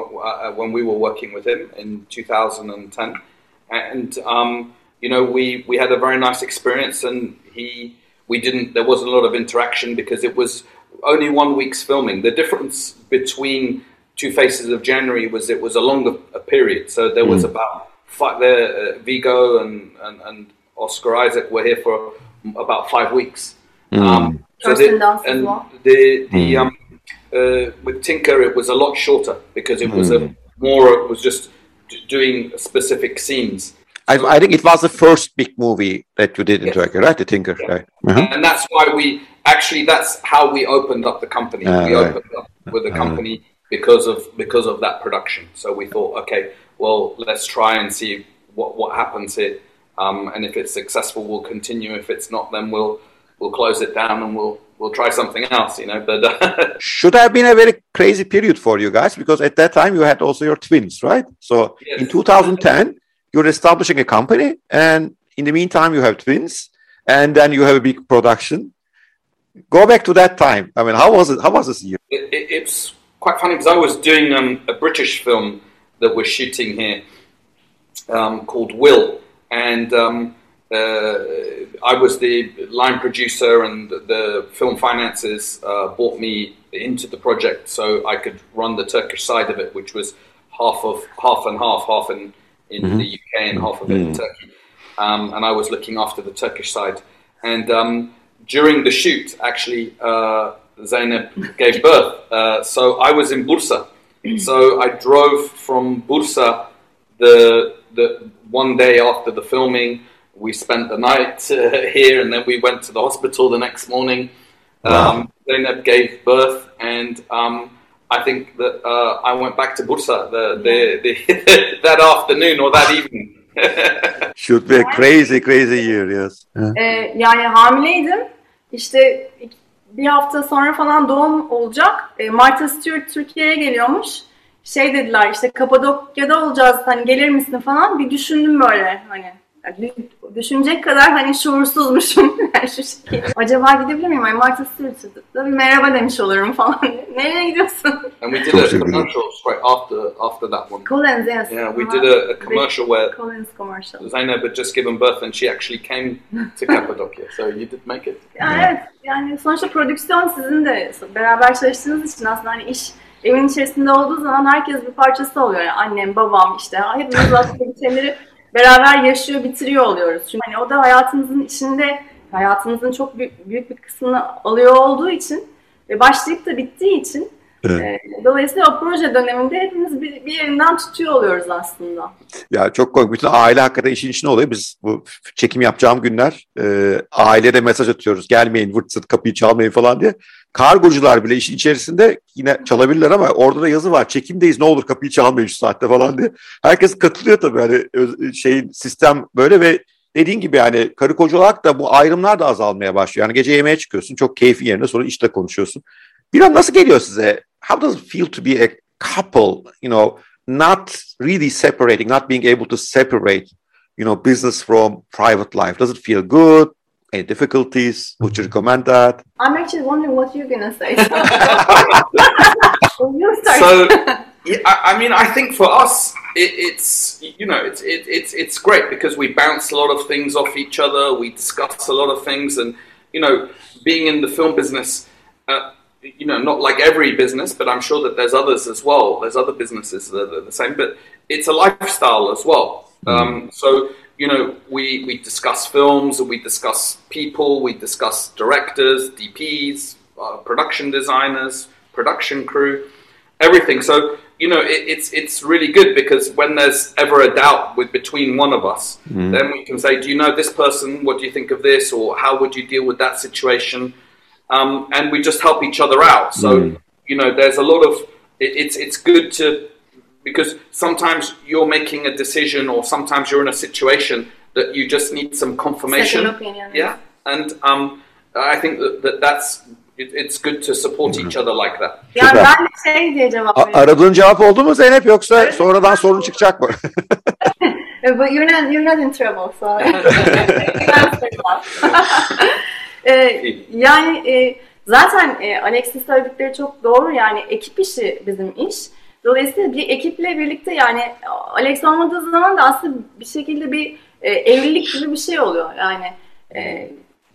when we were working with him in two thousand ten. And, um, you know, we, we had a very nice experience and he, we didn't, there wasn't a lot of interaction because it was only one week's filming. The difference between Two Faces of January was it was a longer a period, so there was mm. about five, there, uh, Viggo and, and, and Oscar Isaac were here for about five weeks.
Mm. Um, so the, and well.
the the mm. um, uh, with Tinker it was a lot shorter because it was mm. a more it was just doing specific scenes.
I, I think it was the first big movie that you did in yes. Turkey, right? The Tinker, yeah. right?
Uh-huh. And that's why we actually that's how we opened up the company. Uh, we right. opened up with the company. Uh, Because of because of that production, so we thought, okay, well, let's try and see what, what happens here, um, and if it's successful, we'll continue. If it's not, then we'll we'll close it down and we'll we'll try something else, you know. But
should have been a very crazy period for you guys because at that time you had also your twins, right? So yes. In two thousand ten, you're establishing a company, and in the meantime, you have twins, and then you have a big production. Go back to that time. I mean, how was it? How was this year?
It, it, it's quite funny because I was doing um, a British film that we're shooting here um, called Will, and um, uh, I was the line producer, and the, the film finances uh, brought me into the project so I could run the Turkish side of it, which was half of half and half, half in, in mm-hmm. the U K and half of it mm-hmm. in Turkey, um, and I was looking after the Turkish side. And um, during the shoot, actually. Uh, Zeynep gave birth. Uh, so I was in Bursa. So I drove from Bursa the the one day after the filming. We spent the night uh, here, and then we went to the hospital the next morning. Um, wow. Zeynep gave birth, and um, I think that uh, I went back to Bursa the, the, the that afternoon or that evening.
Should be a crazy, crazy year, yes.
Ee, yani hamileydim. İşte bir hafta sonra falan doğum olacak. E, Martha Stewart Türkiye'ye geliyormuş. Şey dediler işte Kapadokya'da olacağız, hani gelir misin falan. Bir düşündüm böyle hani Yani düşünecek kadar hani şuursuzmuşum yani şu şekilde. Acaba gidebilir miyim? Hani Martha Stewart'a bir merhaba demiş olurum falan. Nereye gidiyorsun?
And we did a commercial straight after after that one.
Collins, yes.
Yeah, we did a, a commercial where
Collins commercial.
Zainab had just given birth and she actually came to Cappadocia. So you did make it.
Yani evet. Yani sonuçta prodüksiyon sizin de beraber çalıştığınız için aslında hani iş evin içerisinde olduğu zaman herkes bir parçası oluyor. Yani annem, babam işte hepimiz aslında bir şeyleri beraber yaşıyor, bitiriyor oluyoruz. Çünkü hani o da hayatınızın içinde, hayatınızın çok büyük, büyük bir kısmını alıyor olduğu için ve başlayıp da bittiği için evet. e, dolayısıyla o proje döneminde hepimiz bir, bir yerinden tutuyor oluyoruz aslında.
Ya çok komik. Bütün aile hakikaten işin içine oluyor. Biz bu çekim yapacağım günler e, ailede mesaj atıyoruz. Gelmeyin, vırt zırt kapıyı çalmayın falan diye. Kargocular bile işin içerisinde yine çalabilirler ama orada da yazı var. Çekimdeyiz, ne olur kapıyı çalmayın şu saatte falan diye. Herkes katılıyor tabii. Hani şeyin sistem böyle ve dediğin gibi yani karı koca olarak da bu ayrımlar da azalmaya başlıyor. Yani gece yemeğe çıkıyorsun. Çok keyfi yerine sonra işte konuşuyorsun. Bir an nasıl geliyor size? How does it feel to be a couple, you know, not really separating, not being able to separate, you know, business from private life? Does it feel good? Any difficulties? Would you recommend that?
I'm actually wondering what you're going to say.
So, yeah, I, I mean, I think for us, it, it's, you know, it's, it, it's, it's great because we bounce a lot of things off each other. We discuss a lot of things and, you know, being in the film business, uh, you know, not like every business, but I'm sure that there's others as well. There's other businesses that are the same, but it's a lifestyle as well. Um, so, you know, we, we discuss films, we discuss people, we discuss directors, D Ps, uh, production designers, production crew, everything. So, you know, it, it's it's really good because when there's ever a doubt with between one of us, mm. then we can say, do you know this person? What do you think of this? Or how would you deal with that situation? Um, and we just help each other out. So, mm. you know, there's a lot of, it, it's it's good to, because sometimes you're making a decision or sometimes you're in a situation that you just need some confirmation.
Second opinion.
Yeah. And um, I think that, that that's, it, it's good to support each other like that.
Yani ben de şey diye cevap veriyorum.
Aradığın cevap oldu mu Zeynep yoksa evet. sonradan sorun çıkacak mı?
But you're not, you're not in trouble, so. Ee, yani e, zaten e, Alex'in söyledikleri çok doğru, yani ekip işi bizim iş. Dolayısıyla bir ekiple birlikte, yani Alex olmadığı zaman da aslında bir şekilde bir e, evlilik gibi bir şey oluyor. Yani e,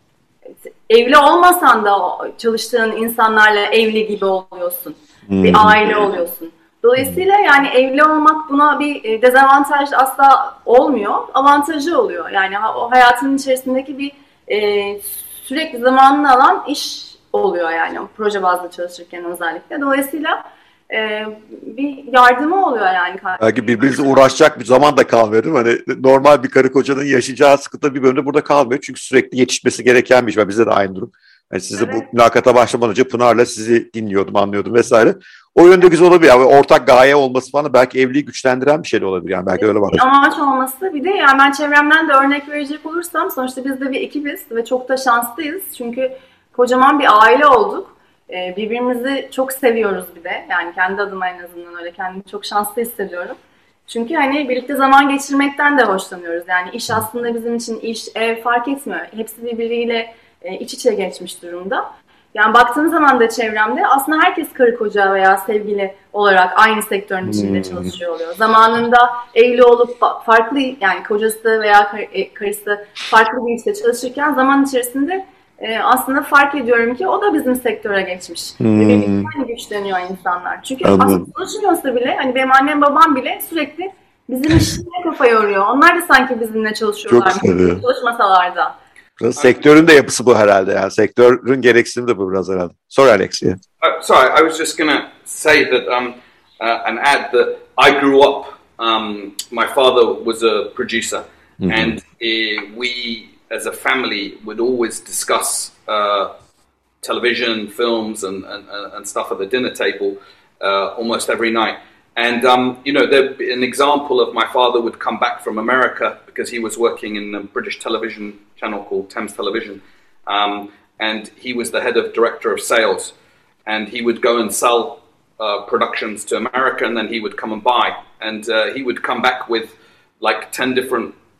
evli olmasan da çalıştığın insanlarla evli gibi oluyorsun. Hmm. Bir aile oluyorsun. Dolayısıyla yani evli olmak buna bir dezavantaj asla olmuyor. Avantajı oluyor. Yani o hayatının içerisindeki bir e, sürekli zamanını alan iş oluyor yani o proje bazlı çalışırken özellikle. Dolayısıyla e, bir yardımı oluyor yani.
Belki birbirinizle uğraşacak bir zaman da kalmıyor değil mi? Hani normal bir karı kocanın yaşayacağı sıkıntı bir bölümde burada kalmıyor. Çünkü sürekli yetişmesi gereken bir iş var. Bizde de aynı durum. Yani size evet. Bu mülakata başlamadan önce Pınar'la sizi dinliyordum, anlıyordum vesaire. O yönde güzel olabilir. Yani ortak gaye olması falan belki evliliği güçlendiren bir şey de olabilir. Yani belki öyle var.
Amaç olması, bir de yani ben çevremden de örnek verecek olursam sonuçta biz de bir ekibiz ve çok da şanslıyız. Çünkü kocaman bir aile olduk. Ee, birbirimizi çok seviyoruz bir de. Yani kendi adıma en azından öyle kendimi çok şanslı hissediyorum. Çünkü hani birlikte zaman geçirmekten de hoşlanıyoruz. Yani iş aslında bizim için iş, ev fark etmiyor. Hepsi birbiriyle e, iç içe geçmiş durumda. Yani baktığım zaman da çevremde aslında herkes karı koca veya sevgili olarak aynı sektörün içinde hmm. çalışıyor oluyor. Zamanında evli olup farklı, yani kocası veya kar- karısı farklı bir işte çalışırken zaman içerisinde e, aslında fark ediyorum ki o da bizim sektöre geçmiş. Hmm. Ve birlikte hani güçleniyor insanlar. Çünkü Anladım. Aslında çalışmıyorsa bile, hani benim annem babam bile sürekli bizim işine kafa yoruyor. Onlar da sanki bizimle çalışıyorlar. Çalışmasalar da.
Biraz sektörün de yapısı bu herhalde yani. Sektörün gereksinimi de bu biraz herhalde. Sorry Alex. Yeah.
Uh, sorry, I was just going to say that um, uh, and add that I grew up, um, my father was a producer mm-hmm. and uh, we as a family would always discuss uh, television, films and, and, and stuff at the dinner table uh, almost every night. And, um, you know, there, an example of my father would come back from America because he was working in a British television channel called Thames Television. Um, and he was the head of director of sales. And he would go and sell uh, productions to America and then he would come and buy. And uh, he would come back with like ten different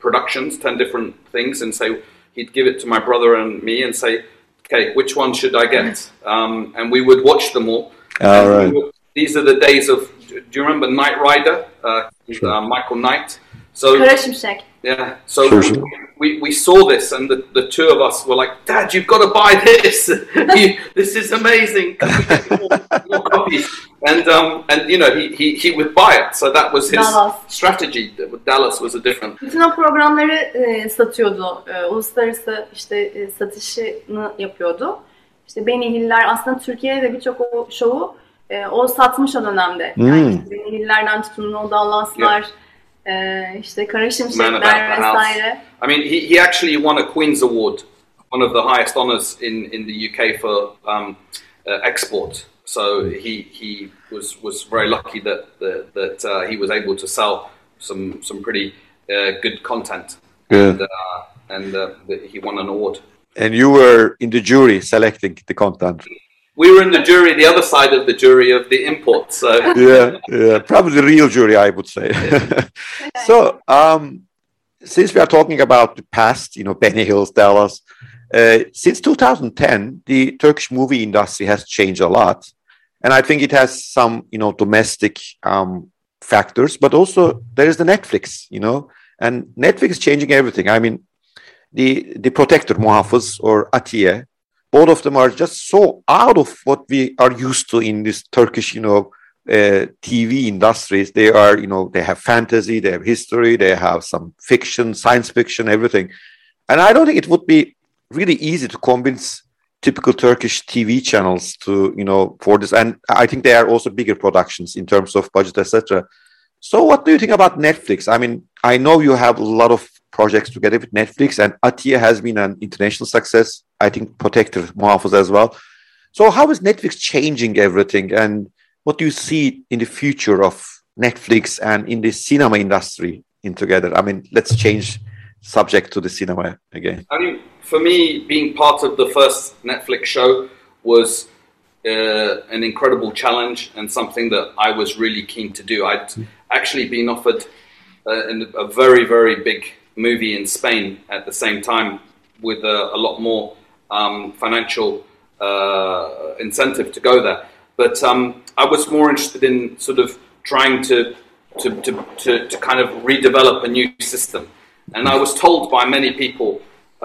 productions, ten different things, and say he'd give it to my brother and me and say, okay, which one should I get? Um, and we would watch them all.
All right.
Would, these are the days of, do you remember Knight Rider? Uh, sure. uh, Michael Knight. So, yeah, so
sure, sure.
We, we saw this, and the, the two of us were like, Dad, you've got to buy this. you, this is amazing. Can we get more, more copies? And, um, and you know, he, he, he would buy it. So that was his
Dallas.
strategy. Dallas was a different.
Bütün o programları e, satıyordu. E, uluslararası işte e, satışını yapıyordu. İşte Benny Hill'ler aslında Türkiye'de de birçok o şovu e, o satmış o dönemde.
Hmm.
Yani Benny Hill'lerden tutun o Dallas'lar. Yeah. Ee, işte Kara Şimşekler vesaire.
I mean, he he actually won a Queen's Award, one of the highest honors in, in the U K for um, uh, export. So he he was was very lucky that that, that uh, he was able to sell some some pretty uh, good content.
Good.
And, uh, and uh, he won an award.
And you were in the jury selecting the content.
We were in the jury, the other side of the jury of the import. So
yeah, yeah, probably the real jury, I would say. So, um, since we are talking about the past, you know, Benny Hill's, Dallas, uh, since two thousand ten, the Turkish movie industry has changed a lot, and I think it has some, you know, domestic um, factors, but also there is the Netflix, you know, and Netflix is changing everything. I mean, the the Protector, Muhafız, or Atiye. Both of them are just so out of what we are used to in this Turkish, you know, uh, T V industries. They are, you know, they have fantasy, they have history, they have some fiction, science fiction, everything. And I don't think it would be really easy to convince typical Turkish T V channels to, you know, for this. And I think they are also bigger productions in terms of budget, et cetera. So what do you think about Netflix? I mean, I know you have a lot of projects together with Netflix, and Atiye has been an international success. I think Protector, Muhafız as well. So how is Netflix changing everything, and what do you see in the future of Netflix and in the cinema industry in together? I mean, let's change subject to the cinema again.
I mean, for me, being part of the first Netflix show was uh, an incredible challenge and something that I was really keen to do. I'd mm. actually been offered uh, a very, very big movie in Spain at the same time with a, a lot more um, financial uh, incentive to go there. But um, I was more interested in sort of trying to to, to, to to kind of redevelop a new system. And I was told by many people,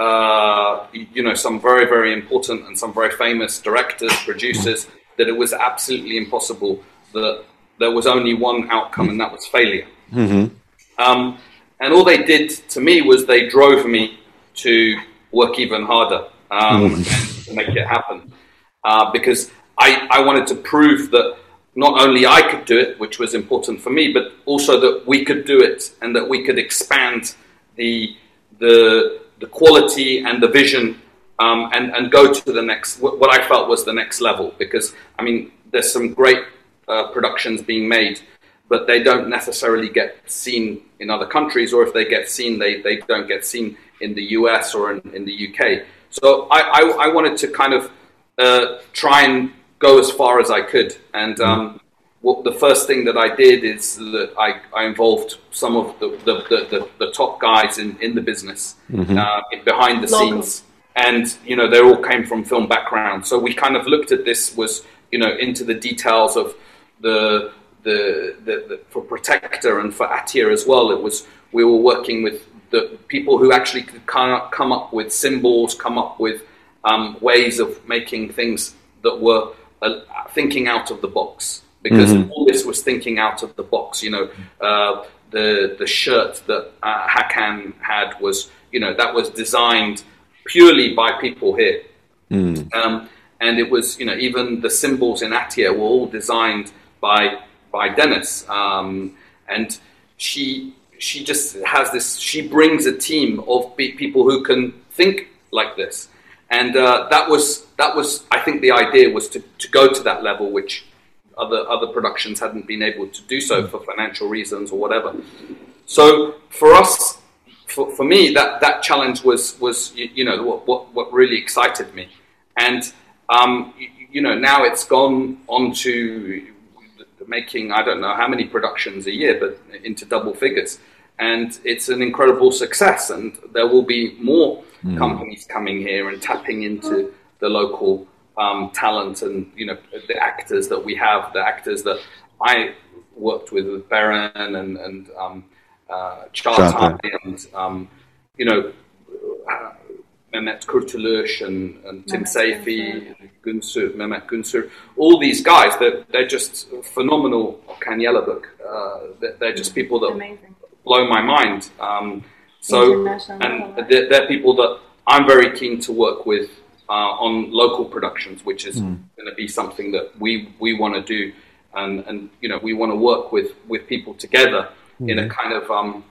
uh, you know, some very, very important and some very famous directors, producers, that it was absolutely impossible, that there was only one outcome, and that was failure.
Mm-hmm.
Um, And all they did to me was they drove me to work even harder um, mm. to make it happen. Uh, because I, I wanted to prove that not only I could do it, which was important for me, but also that we could do it and that we could expand the the the quality and the vision um, and, and go to the next, what I felt was the next level. Because, I mean, there's some great uh, productions being made, but they don't necessarily get seen in other countries, or if they get seen, they, they don't get seen in the U S or in, in the U K. So I, I, I wanted to kind of uh, try and go as far as I could. And um, what the first thing that I did is that I, I involved some of the, the, the, the, the top guys in, in the business, mm-hmm. uh, behind the Local. scenes. And, you know, they all came from film backgrounds. So we kind of looked at this was, you know, into the details of the... The, the, the for Protector and for Atiye as well. It was we were working with the people who actually could come up with symbols, come up with um, ways of making things that were uh, thinking out of the box. Because mm-hmm. all this was thinking out of the box. You know, uh, the the shirt that uh, Hakan had was, you know, that was designed purely by people here, mm. um, and it was, you know, even the symbols in Atiye were all designed by. by Dennis, um, and she she just has this. She brings a team of people who can think like this, and uh, that was that was. I think the idea was to, to go to that level, which other other productions hadn't been able to do so for financial reasons or whatever. So for us, for, for me, that, that challenge was was you, you know what, what what really excited me, and um, you, you know now it's gone on to making, I don't know how many productions a year, but into double figures. and it's an incredible success. And there will be more
mm.
companies coming here and tapping into the local um, talent and, you know, the actors that we have, the actors that I worked with, with Beren and, and um, uh, Çağatay and, um, you know, uh, Mehmet Kurtuluş and, and Tim Seyfi, Günsür, Mehmet Günsür, all these guys, they're, they're just phenomenal. Okan Yalabık, uh, they're, they're just people that
Amazing.
blow my mind. Um, so, and they're, they're people that I'm very keen to work with uh, on local productions, which is mm. going to be something that we, we want to do. And, and, you know, we want to work with, with people together mm. in a kind of... Um,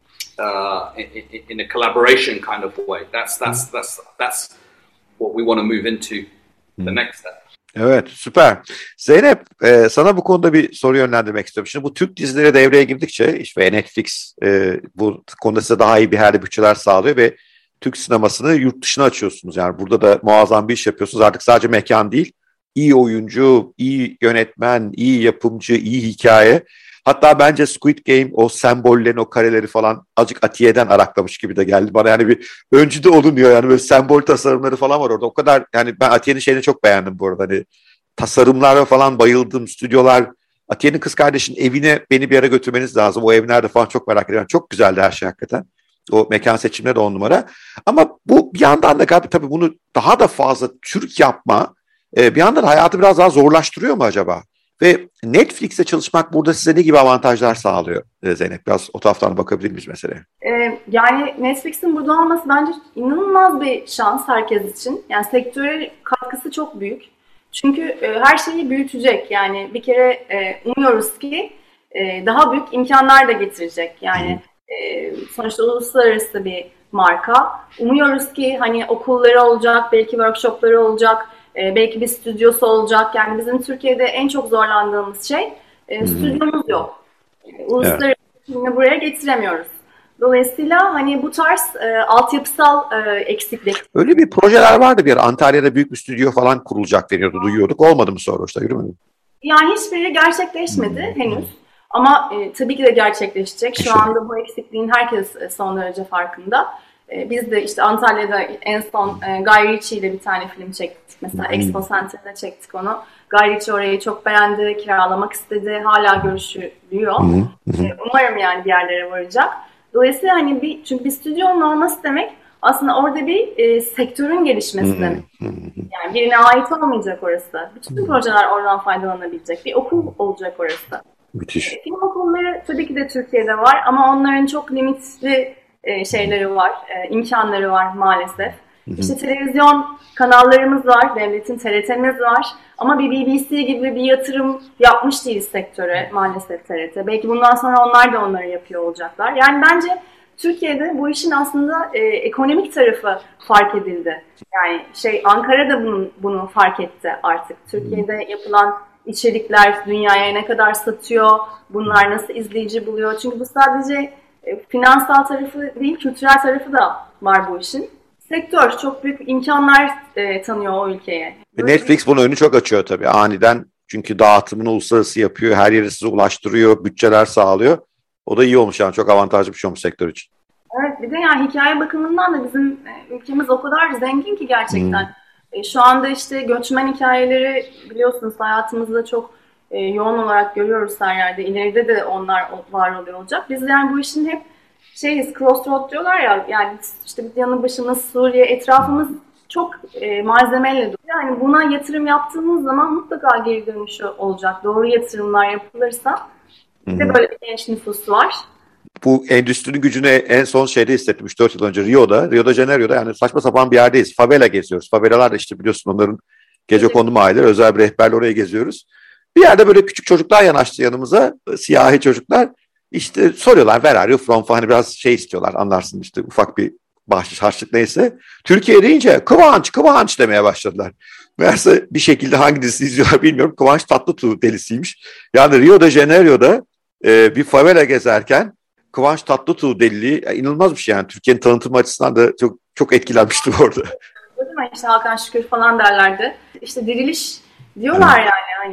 Uh, in, in a collaboration kind of way. That's that's that's that's what we want to move into the next step.
Evet, süper. Zeynep, e, sana bu konuda bir soru yönlendirmek istiyorum. Şimdi bu Türk dizileri devreye girdikçe işte Netflix e, bu konuda size daha iyi bir herhalde bütçeler sağlıyor ve Türk sinemasını yurt dışına açıyorsunuz. Yani burada da muazzam bir iş yapıyorsunuz. Artık sadece mekan değil, iyi oyuncu, iyi yönetmen, iyi yapımcı, iyi hikaye. Hatta bence Squid Game o sembollerin, o kareleri falan azıcık Atiye'den araklamış gibi de geldi bana. Yani bir öncü de olunuyor yani, böyle sembol tasarımları falan var orada. O kadar, yani ben Atiye'nin şeyini çok beğendim bu arada. Hani tasarımlara falan bayıldım, stüdyolar. Atiye'nin kız kardeşinin evine beni bir ara götürmeniz lazım. O ev nerede falan çok merak ediyorum. Çok güzeldi her şey hakikaten. O mekan seçimleri de on numara. Ama bu bir yandan da galiba tabii bunu daha da fazla Türk yapma bir yandan hayatı biraz daha zorlaştırıyor mu acaba? Ve Netflix'te çalışmak burada size ne gibi avantajlar sağlıyor Zeynep? Biraz o taraftan bakabilir miyiz meseleye?
Ee, yani Netflix'in burada olması bence inanılmaz bir şans herkes için. Yani sektöre katkısı çok büyük. Çünkü e, her şeyi büyütecek. Yani bir kere e, umuyoruz ki e, daha büyük imkanlar da getirecek. Yani e, sonuçta uluslararası bir marka. Umuyoruz ki hani okulları olacak, belki workshopları olacak. Ee, belki bir stüdyosu olacak. Yani bizim Türkiye'de en çok zorlandığımız şey e, stüdyomuz yok. E, uluslararası filmi evet. buraya getiremiyoruz. Dolayısıyla hani bu tarz e, altyapısal e, eksiklik.
Öyle bir projeler vardı bir ara. Antalya'da büyük bir stüdyo falan kurulacak deniyordu. Duyuyorduk. Olmadı mı sonra işte? Yürümedi.
Yani hiçbiri gerçekleşmedi hmm. henüz. Ama e, tabii ki de gerçekleşecek. Şu işte. anda bu eksikliğin herkes e, son derece farkında. E, biz de işte Antalya'da en son e, Guy Ritchie ile bir tane film çektik. Mesela hmm. Expo Center'da çektik onu. Guy Ritchie orayı çok beğendi, kiralamak istedi. Hala görüşülüyor. Hmm. E, umarım yani bir yerlere varacak. Dolayısıyla hani bir, çünkü bir stüdyonun olması demek aslında orada bir e, sektörün gelişmesi hmm. demek. Yani birine ait olmayacak orası. Bütün hmm. projeler oradan faydalanabilecek. Bir okul olacak orası.
Müthiş.
E, film okulları tabii ki de Türkiye'de var ama onların çok limitli e, şeyleri var, e, imkanları var maalesef. Hı hı. İşte televizyon kanallarımız var, devletin T R T'miz var ama bir B B C gibi bir yatırım yapmış değiliz sektöre maalesef T R T. Belki bundan sonra onlar da onları yapıyor olacaklar. Yani bence Türkiye'de bu işin aslında e, ekonomik tarafı fark edildi. Yani şey Ankara da bunu, bunu fark etti artık. Türkiye'de yapılan içerikler dünyaya ne kadar satıyor, bunlar nasıl izleyici buluyor. Çünkü bu sadece e, finansal tarafı değil, kültürel tarafı da var bu işin. Sektör çok büyük imkanlar e, tanıyor o ülkeye.
Netflix bunun önünü çok açıyor tabii aniden. Çünkü dağıtımını uluslararası yapıyor, her yere size ulaştırıyor, bütçeler sağlıyor. O da iyi olmuş yani, çok avantajlı bir şey olmuş sektör için.
Evet, bir de yani hikaye bakımından da bizim e, ülkemiz o kadar zengin ki gerçekten. Hmm. E, şu anda işte göçmen hikayeleri biliyorsunuz hayatımızda çok e, yoğun olarak görüyoruz her yerde. İleride de onlar var oluyor olacak. Biz yani bu işin hep şeyiz, crossroad diyorlar ya, yani işte bir yanı başımız Suriye, etrafımız çok e, malzemeyle dolu. Yani buna yatırım yaptığımız zaman mutlaka geri dönüşü olacak. Doğru yatırımlar yapılırsa. Bir de böyle bir genç nüfusu var.
Bu endüstrinin gücünü en son şeyde hissettim üç dört yıl önce Rio'da. Rio de Janeiro'da yani saçma sapan bir yerdeyiz. Favela geziyoruz. Favelalar da işte biliyorsun onların gecekondu mahalleleri. Özel bir rehberle oraya geziyoruz. Bir yerde böyle küçük çocuklar yanaştı yanımıza. Siyahi çocuklar. İşte soruyorlar where are you from falan, hani biraz şey istiyorlar, anlarsın işte ufak bir bahşiş harçlık neyse. Türkiye deyince Kıvanç Kıvanç demeye başladılar. Meğerse bir şekilde hangi dizisi izliyorlar bilmiyorum. Kıvanç Tatlıtuğ delisiymiş. Yani Rio de Janeiro'da e, bir favela gezerken Kıvanç Tatlıtuğ deliliği yani inanılmaz bir şey yani. Türkiye'nin tanıtım açısından da çok çok etkilenmiştim orada.
İşte Hakan Şükür falan derlerdi. İşte diriliş diyorlar yani hani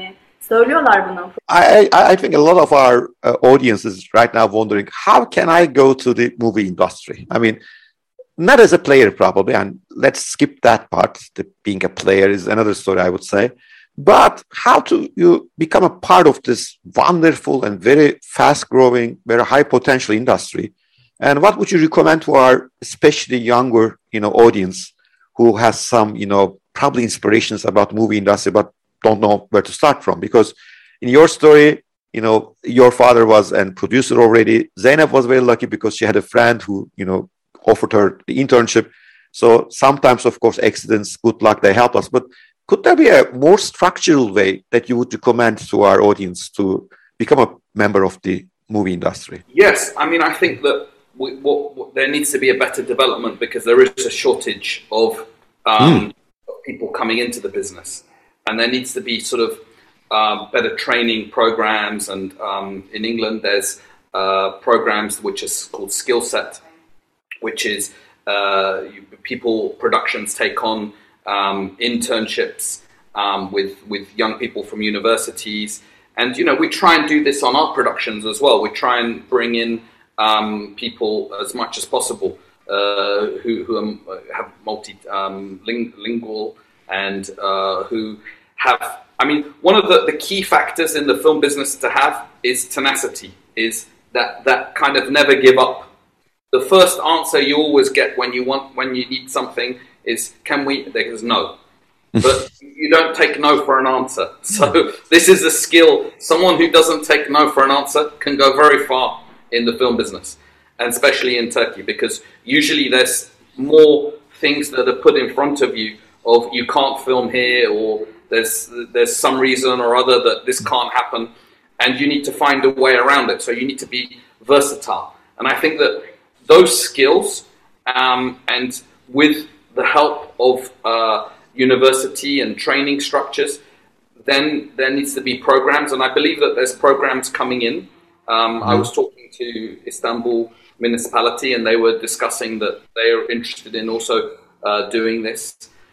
söylüyorlar bunu.
I, I, I think a lot of our uh, audiences right now wondering, how can I go to the movie industry? I mean, not as a player probably, and let's skip that part. The, being a player is another story, I would say. But how to you become a part of this wonderful and very fast-growing, very high-potential industry? And what would you recommend to our especially younger, you know, audience who has some, you know, probably inspirations about movie industry, but don't know where to start from? Because in your story, you know, your father was a producer already. Zeynep was very lucky because she had a friend who, you know, offered her the internship. So sometimes, of course, accidents, good luck, they help us. But could there be a more structural way that you would recommend to our audience to become a member of the movie industry?
Yes, I mean, I think that we, what, what, there needs to be a better development because there is a shortage of, um, mm. of people coming into the business. And there needs to be sort of uh, better training programs. And um, in England, there's uh, programs which is called Skill Set, which is uh, people, productions take on um, internships um, with, with young people from universities. And, you know, we try and do this on our productions as well. We try and bring in um, people as much as possible uh, who, who are, have multilingual um, and uh, who have, I mean, one of the, the key factors in the film business to have is tenacity, is that, that kind of never give up. The first answer you always get when you want, when you need something is, can we, there's no. But you don't take no for an answer. So this is a skill. Someone who doesn't take no for an answer can go very far in the film business, and especially in Turkey, because usually there's more things that are put in front of you of you can't film here, or there's there's some reason or other that this can't happen, and you need to find a way around it. So you need to be versatile. And I think that those skills, um, and with the help of uh, university and training structures, then there needs to be programs, and I believe that there's programs coming in. Um, I was talking to Istanbul municipality, and they were discussing that they are interested in also uh, doing this.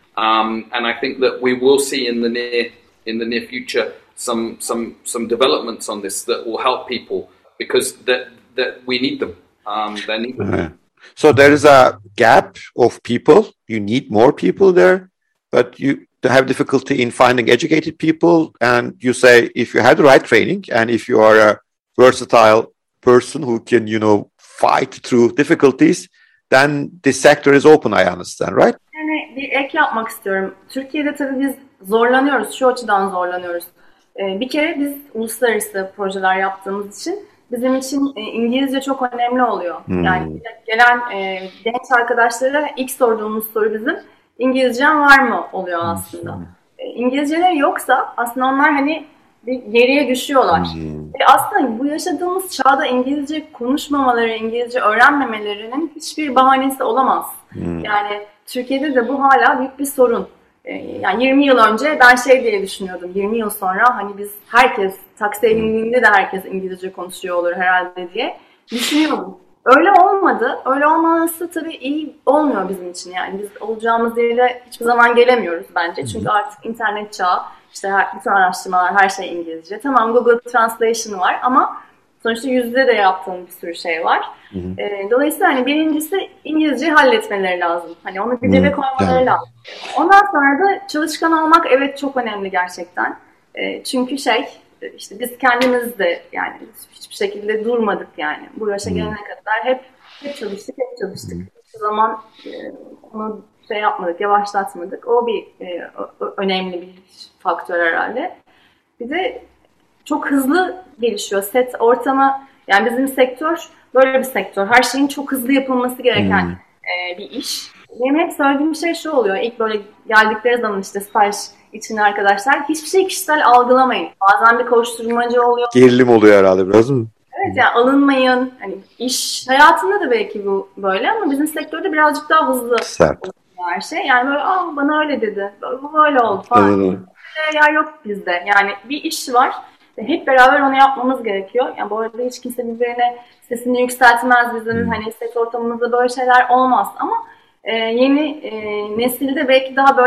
Um, and I think that we will see in the near in the near future some some some developments on this that will help people, because that that we need them. Um, they need them.
Uh-huh. So there is a gap of people. You need more people there, but you have difficulty in finding educated people. And you say if you have the right training and if you are a versatile person who can, you know, fight through difficulties, then this sector is open, I understand, right?
Yani bir ek yapmak istiyorum. Türkiye'de tabii biz zorlanıyoruz, şu açıdan zorlanıyoruz. Ee, bir kere biz uluslararası projeler yaptığımız için bizim için e, İngilizce çok önemli oluyor. Hmm. Yani gelen e, genç arkadaşlara ilk sorduğumuz soru bizim İngilizcen var mı oluyor aslında. Hmm. E, İngilizceleri yoksa aslında onlar hani bir geriye düşüyorlar. Hmm. Ve aslında bu yaşadığımız çağda İngilizce konuşmamaları, İngilizce öğrenmemelerinin hiçbir bahanesi olamaz. Hmm. Yani Türkiye'de de bu hala büyük bir sorun. Yani yirmi yıl önce ben şey diye düşünüyordum. yirmi yıl sonra hani biz herkes, taksiye bindiğinde de herkes İngilizce konuşuyor olur herhalde diye düşünüyordum. Öyle olmadı. Öyle olmaması tabii iyi olmuyor bizim için. Yani biz olacağımız yere hiçbir zaman gelemiyoruz bence. Çünkü artık internet çağı, işte her, bütün araştırmalar, her şey İngilizce. Tamam, Google Translation var ama sonuçta yüzde de yaptığım bir sürü şey var. Hı hı. E, dolayısıyla hani birincisi İngilizceyi halletmeleri lazım. Hani onu bir cebe koymaları yani lazım. Ondan sonra da çalışkan olmak evet çok önemli gerçekten. E, çünkü şey işte biz kendimiz de yani hiçbir şekilde durmadık yani. Bu yaşa hı. gelene kadar hep hep çalıştık, hep çalıştık. Hı. Hiçbir zaman e, onu şey yapmadık, yavaşlatmadık. O bir e, önemli bir faktör herhalde. Bir de çok hızlı gelişiyor set ortamı. Yani bizim sektör böyle bir sektör. Her şeyin çok hızlı yapılması gereken hmm. e, bir iş. Benim hep söylediğim şey şu oluyor. İlk böyle geldikleri zaman işte staj için arkadaşlar hiçbir şey kişisel algılamayın. Bazen bir koşturmacı oluyor.
Gerilim oluyor herhalde biraz mı?
Evet yani alınmayın. Hani iş hayatında da belki bu böyle ama bizim sektörde birazcık daha hızlı
Sert.
her şey. Yani böyle aa bana öyle dedi. Bu böyle oldu falan. Evet. Ya yok bizde. Yani bir iş var. Hep beraber onu yapmamız gerekiyor. Yani bu arada hiç kimse birbirine sesini yükseltmez. Bizim hmm. hani set ortamımızda böyle şeyler olmaz. Ama e, yeni e, nesilde belki daha böyle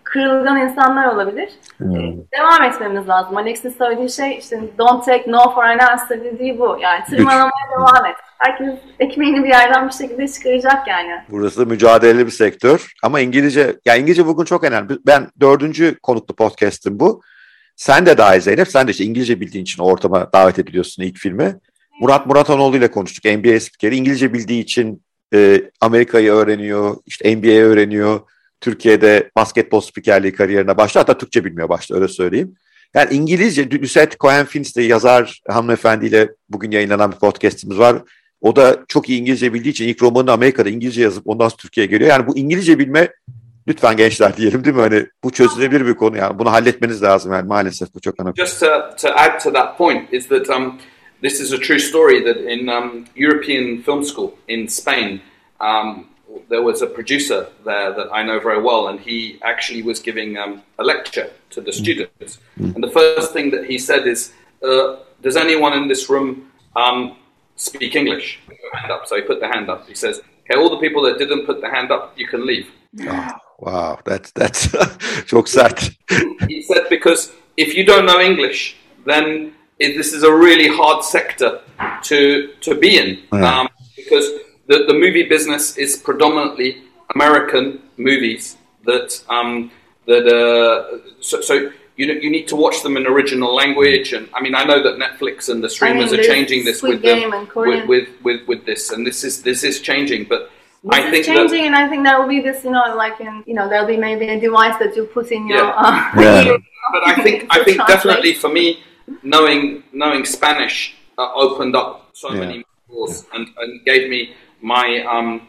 kırılgan insanlar olabilir. Hmm. Devam etmemiz lazım. Alex'in söylediği şey işte don't take no for an answer dediği bu. Yani tırmalamaya devam et. Herkes ekmeğini bir yerden bir şekilde çıkaracak yani.
Burası da mücadeleli bir sektör. Ama İngilizce, ya İngilizce bugün çok önemli. Ben dördüncü konuklu podcast'im bu. Sen de dahil Zeynep. Sen de işte İngilizce bildiğin için o ortama davet ediliyorsun ilk filme. Murat Muratanoğlu ile konuştuk. N B A spikeri. İngilizce bildiği için e, Amerika'yı öğreniyor. İşte N B A'yi öğreniyor. Türkiye'de basketbol spikerliği kariyerine başladı. Hatta Türkçe bilmiyor başta, öyle söyleyeyim. Yani İngilizce, Lucette Cohen-Fins de yazar hanımefendiyle bugün yayınlanan bir podcastimiz var. O da çok iyi İngilizce bildiği için ilk romanını Amerika'da İngilizce yazıp ondan sonra Türkiye'ye geliyor. Yani bu İngilizce bilme, lütfen gençler diyelim değil mi? Hani bu çözülebilir bir konu yani. Bunu halletmeniz lazım yani, maalesef bu çok önemli.
Just to, to add to that point is that um, this is a true story that in um, European Film School in Spain, um, there was a producer there that I know very well, and he actually was giving um, a lecture to the students. Mm. And the first thing that he said is, uh, does anyone in this room um, speak English? Put your hand up. So he put the hand up. He says, okay, all the people that didn't put the hand up, you can leave.
Oh, wow, that's, that's çok sert.
He said, because if you don't know English, then it, this is a really hard sector to, to be in. Yeah. Um, because The, the movie business is predominantly American movies that um, that uh, so, so you you need to watch them in original language, and I mean I know that Netflix and the streamers I mean, are changing this with, the, with, with with with this, and this is this is changing, but
this
I think
is changing,
that,
and I think there will be this, you know, like in you know there'll be maybe a device that you put in your.
Yeah.
Uh,
yeah.
But I think I think definitely for me, knowing knowing Spanish uh, opened up so yeah. many doors yeah. and, and gave me my um,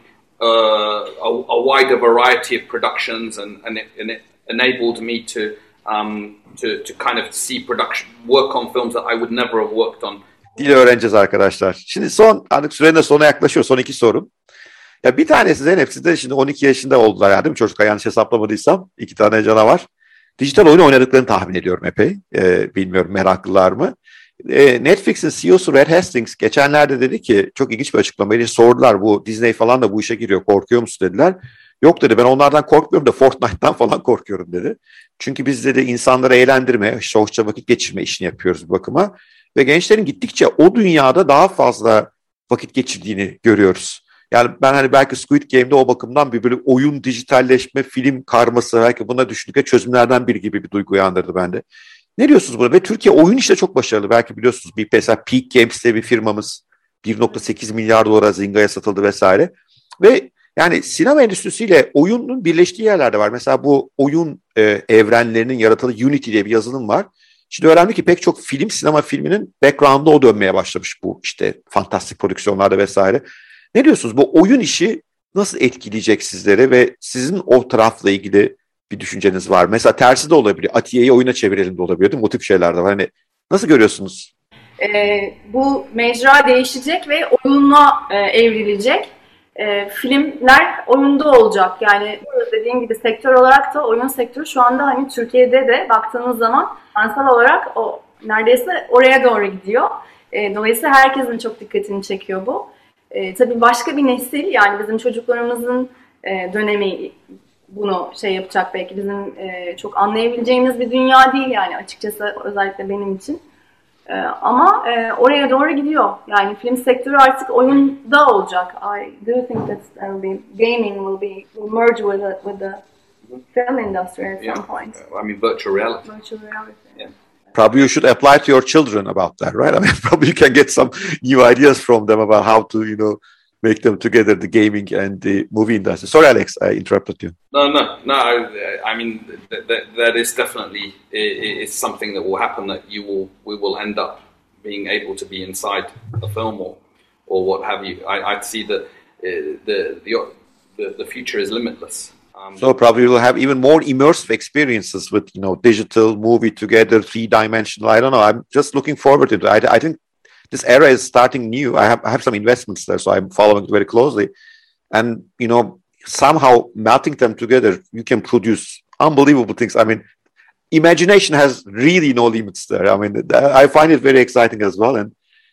uh, a, a wider variety of productions, and, and, it, and it enabled me to um, to to kind of see production, work on films that I would never have worked on.
Dil öğreneceğiz arkadaşlar. Şimdi son, artık sürenin de sona yaklaşıyor. Son iki sorum. Ya bir tanesi Zeynep, siz de şimdi on iki yaşında oldular ya, değil mi çocuklar, yanlış hesaplamadıysam. İki tane canavar. Dijital oyun oynadıklarını tahmin ediyorum epey. Ee, bilmiyorum, meraklılar mı? Netflix'in C E O'su Red Hastings geçenlerde dedi ki, çok ilginç bir açıklamaydı. Sordular, bu Disney falan da bu işe giriyor, korkuyor musun dediler. Yok dedi, ben onlardan korkmuyorum da Fortnite'tan falan korkuyorum dedi. Çünkü biz dedi insanları eğlendirme, hoşça vakit geçirme işini yapıyoruz bir bakıma. Ve gençlerin gittikçe o dünyada daha fazla vakit geçirdiğini görüyoruz. Yani ben hani belki Squid Game'de o bakımdan bir böyle oyun, dijitalleşme, film karması, belki buna düşündükçe çözümlerden biri gibi bir duygu uyandırdı bende. Ne diyorsunuz buna? Ve Türkiye oyun işte çok başarılı. Belki biliyorsunuz, bir mesela Peak Games diye bir firmamız bir nokta sekiz milyar dolara Zynga'ya satıldı vesaire. Ve yani sinema endüstrisiyle oyunun birleştiği yerlerde var. Mesela bu oyun e, evrenlerinin yaratıldığı Unity diye bir yazılım var. Şimdi öğrendim ki pek çok film, sinema filminin background'da o dönmeye başlamış, bu işte fantastik prodüksiyonlarda vesaire. Ne diyorsunuz? Bu oyun işi nasıl etkileyecek sizleri ve sizin o tarafla ilgili bir düşünceniz var? Mesela tersi de olabiliyor. Atiye'yi oyuna çevirelim de olabiliyor değil mi? O tip şeyler de var. Hani nasıl görüyorsunuz?
Ee, bu mecra değişecek ve oyuna e, evrilecek. E, filmler oyunda olacak. Yani dediğim gibi sektör olarak da oyun sektörü şu anda hani Türkiye'de de baktığınız zaman finansal olarak o neredeyse oraya doğru gidiyor. E, dolayısıyla herkesin çok dikkatini çekiyor bu. E, tabii başka bir nesil, yani bizim çocuklarımızın e, dönemi bunu şey yapacak, belki bizim e, çok anlayabileceğimiz bir dünya değil yani açıkçası, özellikle benim için. E, ama e, oraya doğru gidiyor. Yani film sektörü artık oyunda olacak. I do think that there will be, gaming will be will merge with the, with the film industry at
yeah.
some point.
I mean virtual reality.
Virtual reality.
Yeah.
Probably you should apply to your children about that, right? I mean, probably you can get some new ideas from them about how to, you know, make them together, the gaming and the movie industry. Sorry, Alex, I interrupted you.
No, no, no. I, I mean, that, that, that is definitely it's something that will happen. That you will, we will end up being able to be inside a film or, or what have you. I, I'd see that uh, the, the the future is limitless. Um,
so probably you'll have even more immersive experiences with, you know, digital movie together, three dimensional. I don't know. I'm just looking forward to it. I, I think this era is starting new. I have I have some investments there, so I'm following it very closely. And, you know, somehow melting them together, you can produce unbelievable things. I mean, imagination has really no limits there. I mean, I find it very exciting as well. And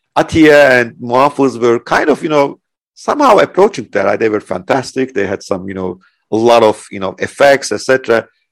Atiye and Muhafız were kind of, you know, somehow approaching that. They were fantastic. They had some, you know, a lot of, you know, effects, et cetera.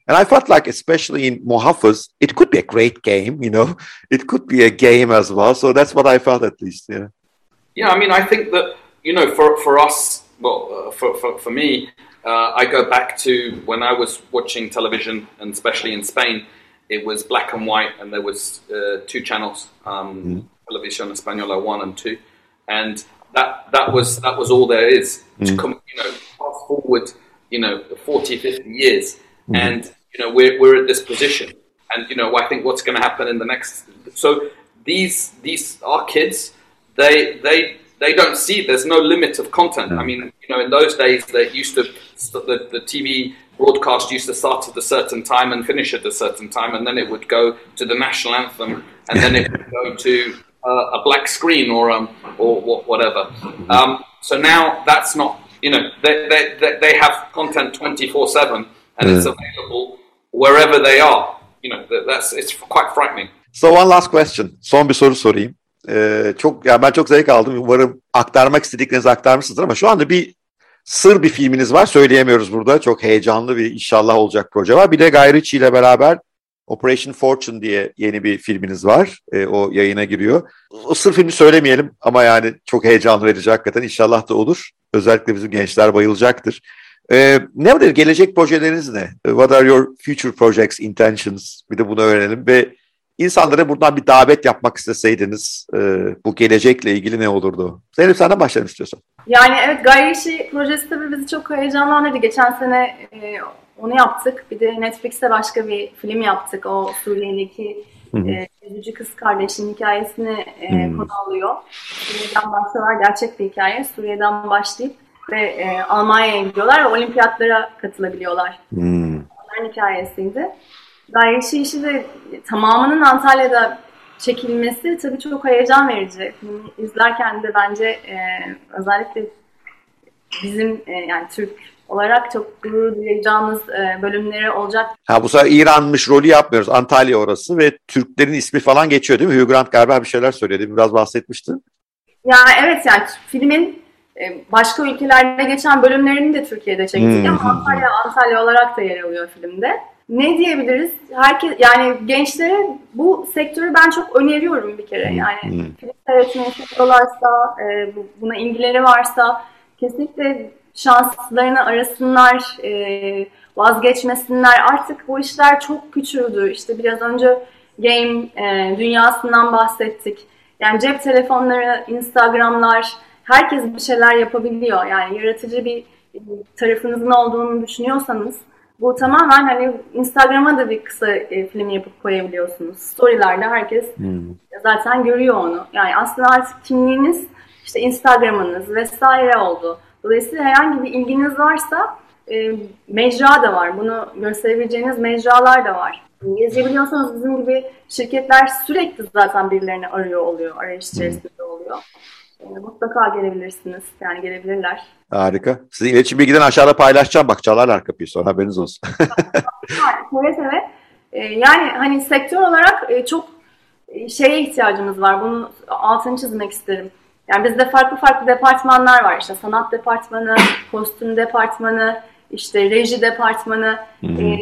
And I felt like, especially in Muhafız, it could be a great game, you know, it could be a game as well. So that's what I felt, at least. Yeah.
Yeah, I mean, I think that, you know, for for us, well, uh, for, for for me, uh, I go back to when I was watching television, and especially in Spain, it was black and white, and there was uh, two channels, um, mm. Televisión Española one and two, and that that was that was all there is mm. to come, you know, fast forward, you know, forty, fifty years, mm. and you know, we're we're at this position, and you know, I think what's going to happen in the next. So these these our kids, they they. They don't see, there's no limit of content. I mean, you know, in those days, they used to, the, the T V broadcast used to start at a certain time and finish at a certain time, and then it would go to the national anthem, and then it would go to uh, a black screen or um, or whatever. Um, so now that's not, you know, they they they have content twenty-four seven, and it's available wherever they are. You know, that's it's quite frightening.
So one last question. Son bir soru sorayım. Ee, çok ya ben çok zevk aldım. Umarım aktarmak istediklerinizi aktarmışsınızdır ama şu anda bir sır bir filminiz var. Söyleyemiyoruz burada. Çok heyecanlı bir inşallah olacak proje var. Bir de Guy Ritchie ile beraber Operation Fortune diye yeni bir filminiz var. Ee, o yayına giriyor. O sır filmi söylemeyelim ama yani çok heyecan verici hakikaten. İnşallah da olur. Özellikle bizim gençler bayılacaktır. Ee, nedir? Gelecek projeleriniz ne? What are your future projects, intentions? Bir de bunu öğrenelim ve İnsanlara buradan bir davet yapmak isteseydiniz e, bu gelecekle ilgili ne olurdu? Zeynep, senden başlayalım istiyorsan.
Yani evet, Guy Ritchie projesi tabii bizi çok heyecanlandırdı. Geçen sene e, onu yaptık. Bir de Netflix'te başka bir film yaptık. O Suriye'deki üzücü e, kız kardeşinin hikayesini e, konu alıyor. Suriye'den başlıyorlar. Gerçek bir hikaye. Suriye'den başlayıp ve e, Almanya'ya gidiyorlar ve olimpiyatlara katılabiliyorlar. Hmm. Onların hikayesiydi. Guy Ritchie işi de tamamının Antalya'da çekilmesi tabii çok heyecan verici. Filmi izlerken de bence e, özellikle bizim e, yani Türk olarak çok gurur duyacağımız e, bölümleri olacak.
Ha, bu sefer İranmış rolü yapmıyoruz. Antalya orası ve Türklerin ismi falan geçiyor değil mi? Hugh Grant galiba bir şeyler söyledi. Biraz bahsetmiştin.
Ya evet, yani filmin e, başka ülkelerde geçen bölümlerini de Türkiye'de çektik hmm. ama Antalya Antalya olarak da yer alıyor filmde. Ne diyebiliriz? Herkes, yani gençlere bu sektörü ben çok öneriyorum bir kere. Yani hmm. film seyretmeyi seviyorlarsa, e, buna ilgileri varsa kesinlikle şanslarını arasınlar, e, vazgeçmesinler. Artık bu işler çok küçüldü. İşte biraz önce game e, dünyasından bahsettik. Yani cep telefonları, Instagram'lar, herkes bir şeyler yapabiliyor. Yani yaratıcı bir tarafınızın olduğunu düşünüyorsanız bu tamamen hani Instagram'a da bir kısa e, film yapıp koyabiliyorsunuz. Story'lerde herkes hmm. zaten görüyor onu. Yani aslında artık kimliğiniz işte Instagram'ınız vesaire oldu. Dolayısıyla herhangi bir ilginiz varsa e, mecra da var. Bunu gösterebileceğiniz mecralar da var. İngilizce biliyorsanız bizim gibi şirketler sürekli zaten birilerini arıyor oluyor. Arayış içerisinde oluyor. E, mutlaka gelebilirsiniz. Yani gelebilirler.
Harika. Sizin iletişim bilgilerini aşağıda paylaşacağım. Bak, çalarlar kapıyı sonra, haberiniz olsun.
Evet evet. E, yani hani sektör olarak e, çok şeye ihtiyacımız var. Bunu altını çizmek isterim. Yani bizde farklı farklı departmanlar var. İşte sanat departmanı, kostüm departmanı, işte reji departmanı. Ee,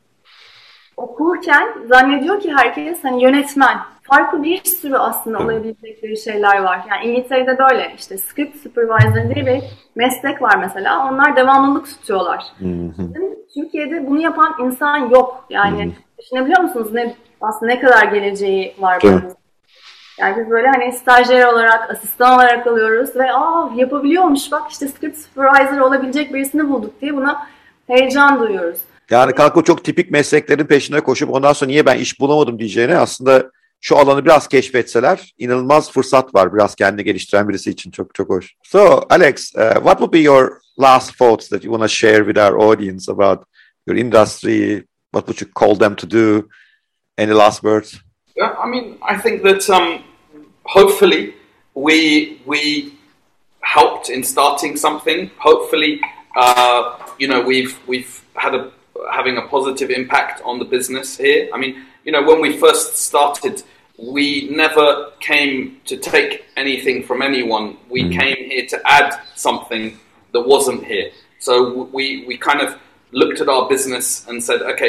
okurken zannediyor ki herkes hani yönetmen. Farklı bir sürü aslında olabilecekleri şeyler var. Yani İngiltere'de böyle işte script supervisor diye bir meslek var mesela. Onlar devamlılık tutuyorlar. Türkiye'de bunu yapan insan yok. Yani düşünebiliyor musunuz ne aslında ne kadar geleceği var bunun? Yani biz böyle hani stajyer olarak, asistan olarak alıyoruz ve aa yapabiliyormuş bak işte script supervisor olabilecek birisini bulduk diye buna heyecan duyuyoruz.
Yani kalk o çok tipik mesleklerin peşine koşup ondan sonra niye ben iş bulamadım diyeceğine aslında şu alanı biraz keşfetseler inanılmaz fırsat var biraz kendini geliştiren birisi için. Çok çok hoş. So Alex, uh, what would be your last thoughts that you want to share with our audience about your industry? What would you call them to do? Any last words?
Yeah, I mean, I think that um, hopefully we we helped in starting something. Hopefully, uh, you know, we've we've had a having a positive impact on the business here. I mean, you know, when we first started, we never came to take anything from anyone. We mm. came here to add something that wasn't here. So we we kind of looked at our business and said, okay,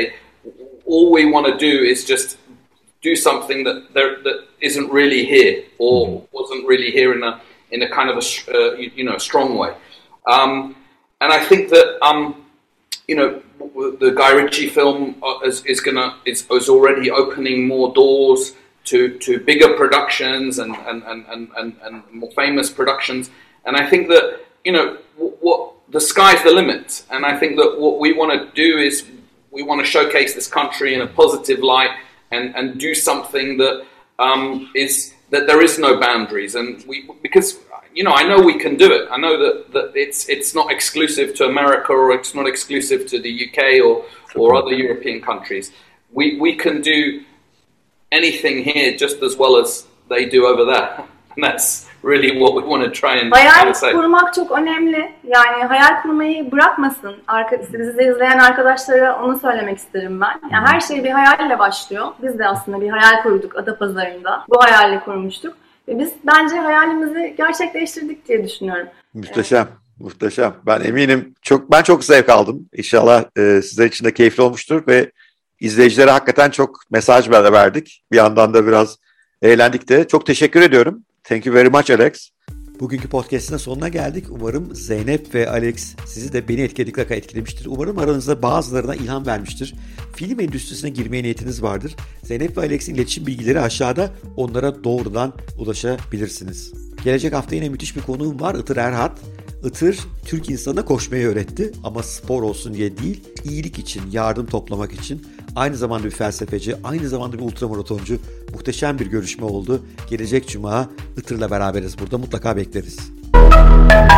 all we want to do is just do something that there, that isn't really here or mm-hmm. wasn't really here in a in a kind of a uh, you, you know strong way. Um, and I think that um, you know the Guy Ritchie film is, is gonna is, is already opening more doors to to bigger productions and and, and, and, and and more famous productions. And I think that you know what the sky's the limit. And I think that what we want to do is we want to showcase this country in a positive light and, and do something that um, is that there is no boundaries. And we because you know I know we can do it. I know that, that it's it's not exclusive to America or it's not exclusive to the U K or or other European countries. We we can do anything here just as well as they do over there. And that's really what we want to try and
hayal kurmak çok önemli. Yani hayal kurmayı bırakmasın. Arka, bizi izleyen arkadaşlara onu söylemek isterim ben. Yani her şey bir hayalle başlıyor. Biz de aslında bir hayal kurduk Adapazarı'nda. Bu hayalle kurmuştuk. Ve biz bence hayalimizi gerçekleştirdik diye düşünüyorum.
Muhteşem. Muhteşem. Ben eminim çok ben çok zevk aldım. İnşallah e, sizler için de keyifli olmuştur ve izleyicilere hakikaten çok mesaj verdik. Bir yandan da biraz eğlendik de. Çok teşekkür ediyorum. Thank you very much Alex. Bugünkü podcast'ın sonuna geldik. Umarım Zeynep ve Alex sizi de beni etkiledikleri etkilemiştir. Umarım aranızda bazılarına ilham vermiştir. Film endüstrisine girmeye niyetiniz vardır. Zeynep ve Alex'in iletişim bilgileri aşağıda. Onlara doğrudan ulaşabilirsiniz. Gelecek hafta yine müthiş bir konuğum var. Itır Erhat. Itır, Türk insanına koşmayı öğretti ama spor olsun diye değil, iyilik için, yardım toplamak için. Aynı zamanda bir felsefeci, aynı zamanda bir ultramaratoncu. Muhteşem bir görüşme oldu. Gelecek Cuma Itır'la beraberiz burada. Mutlaka bekleriz.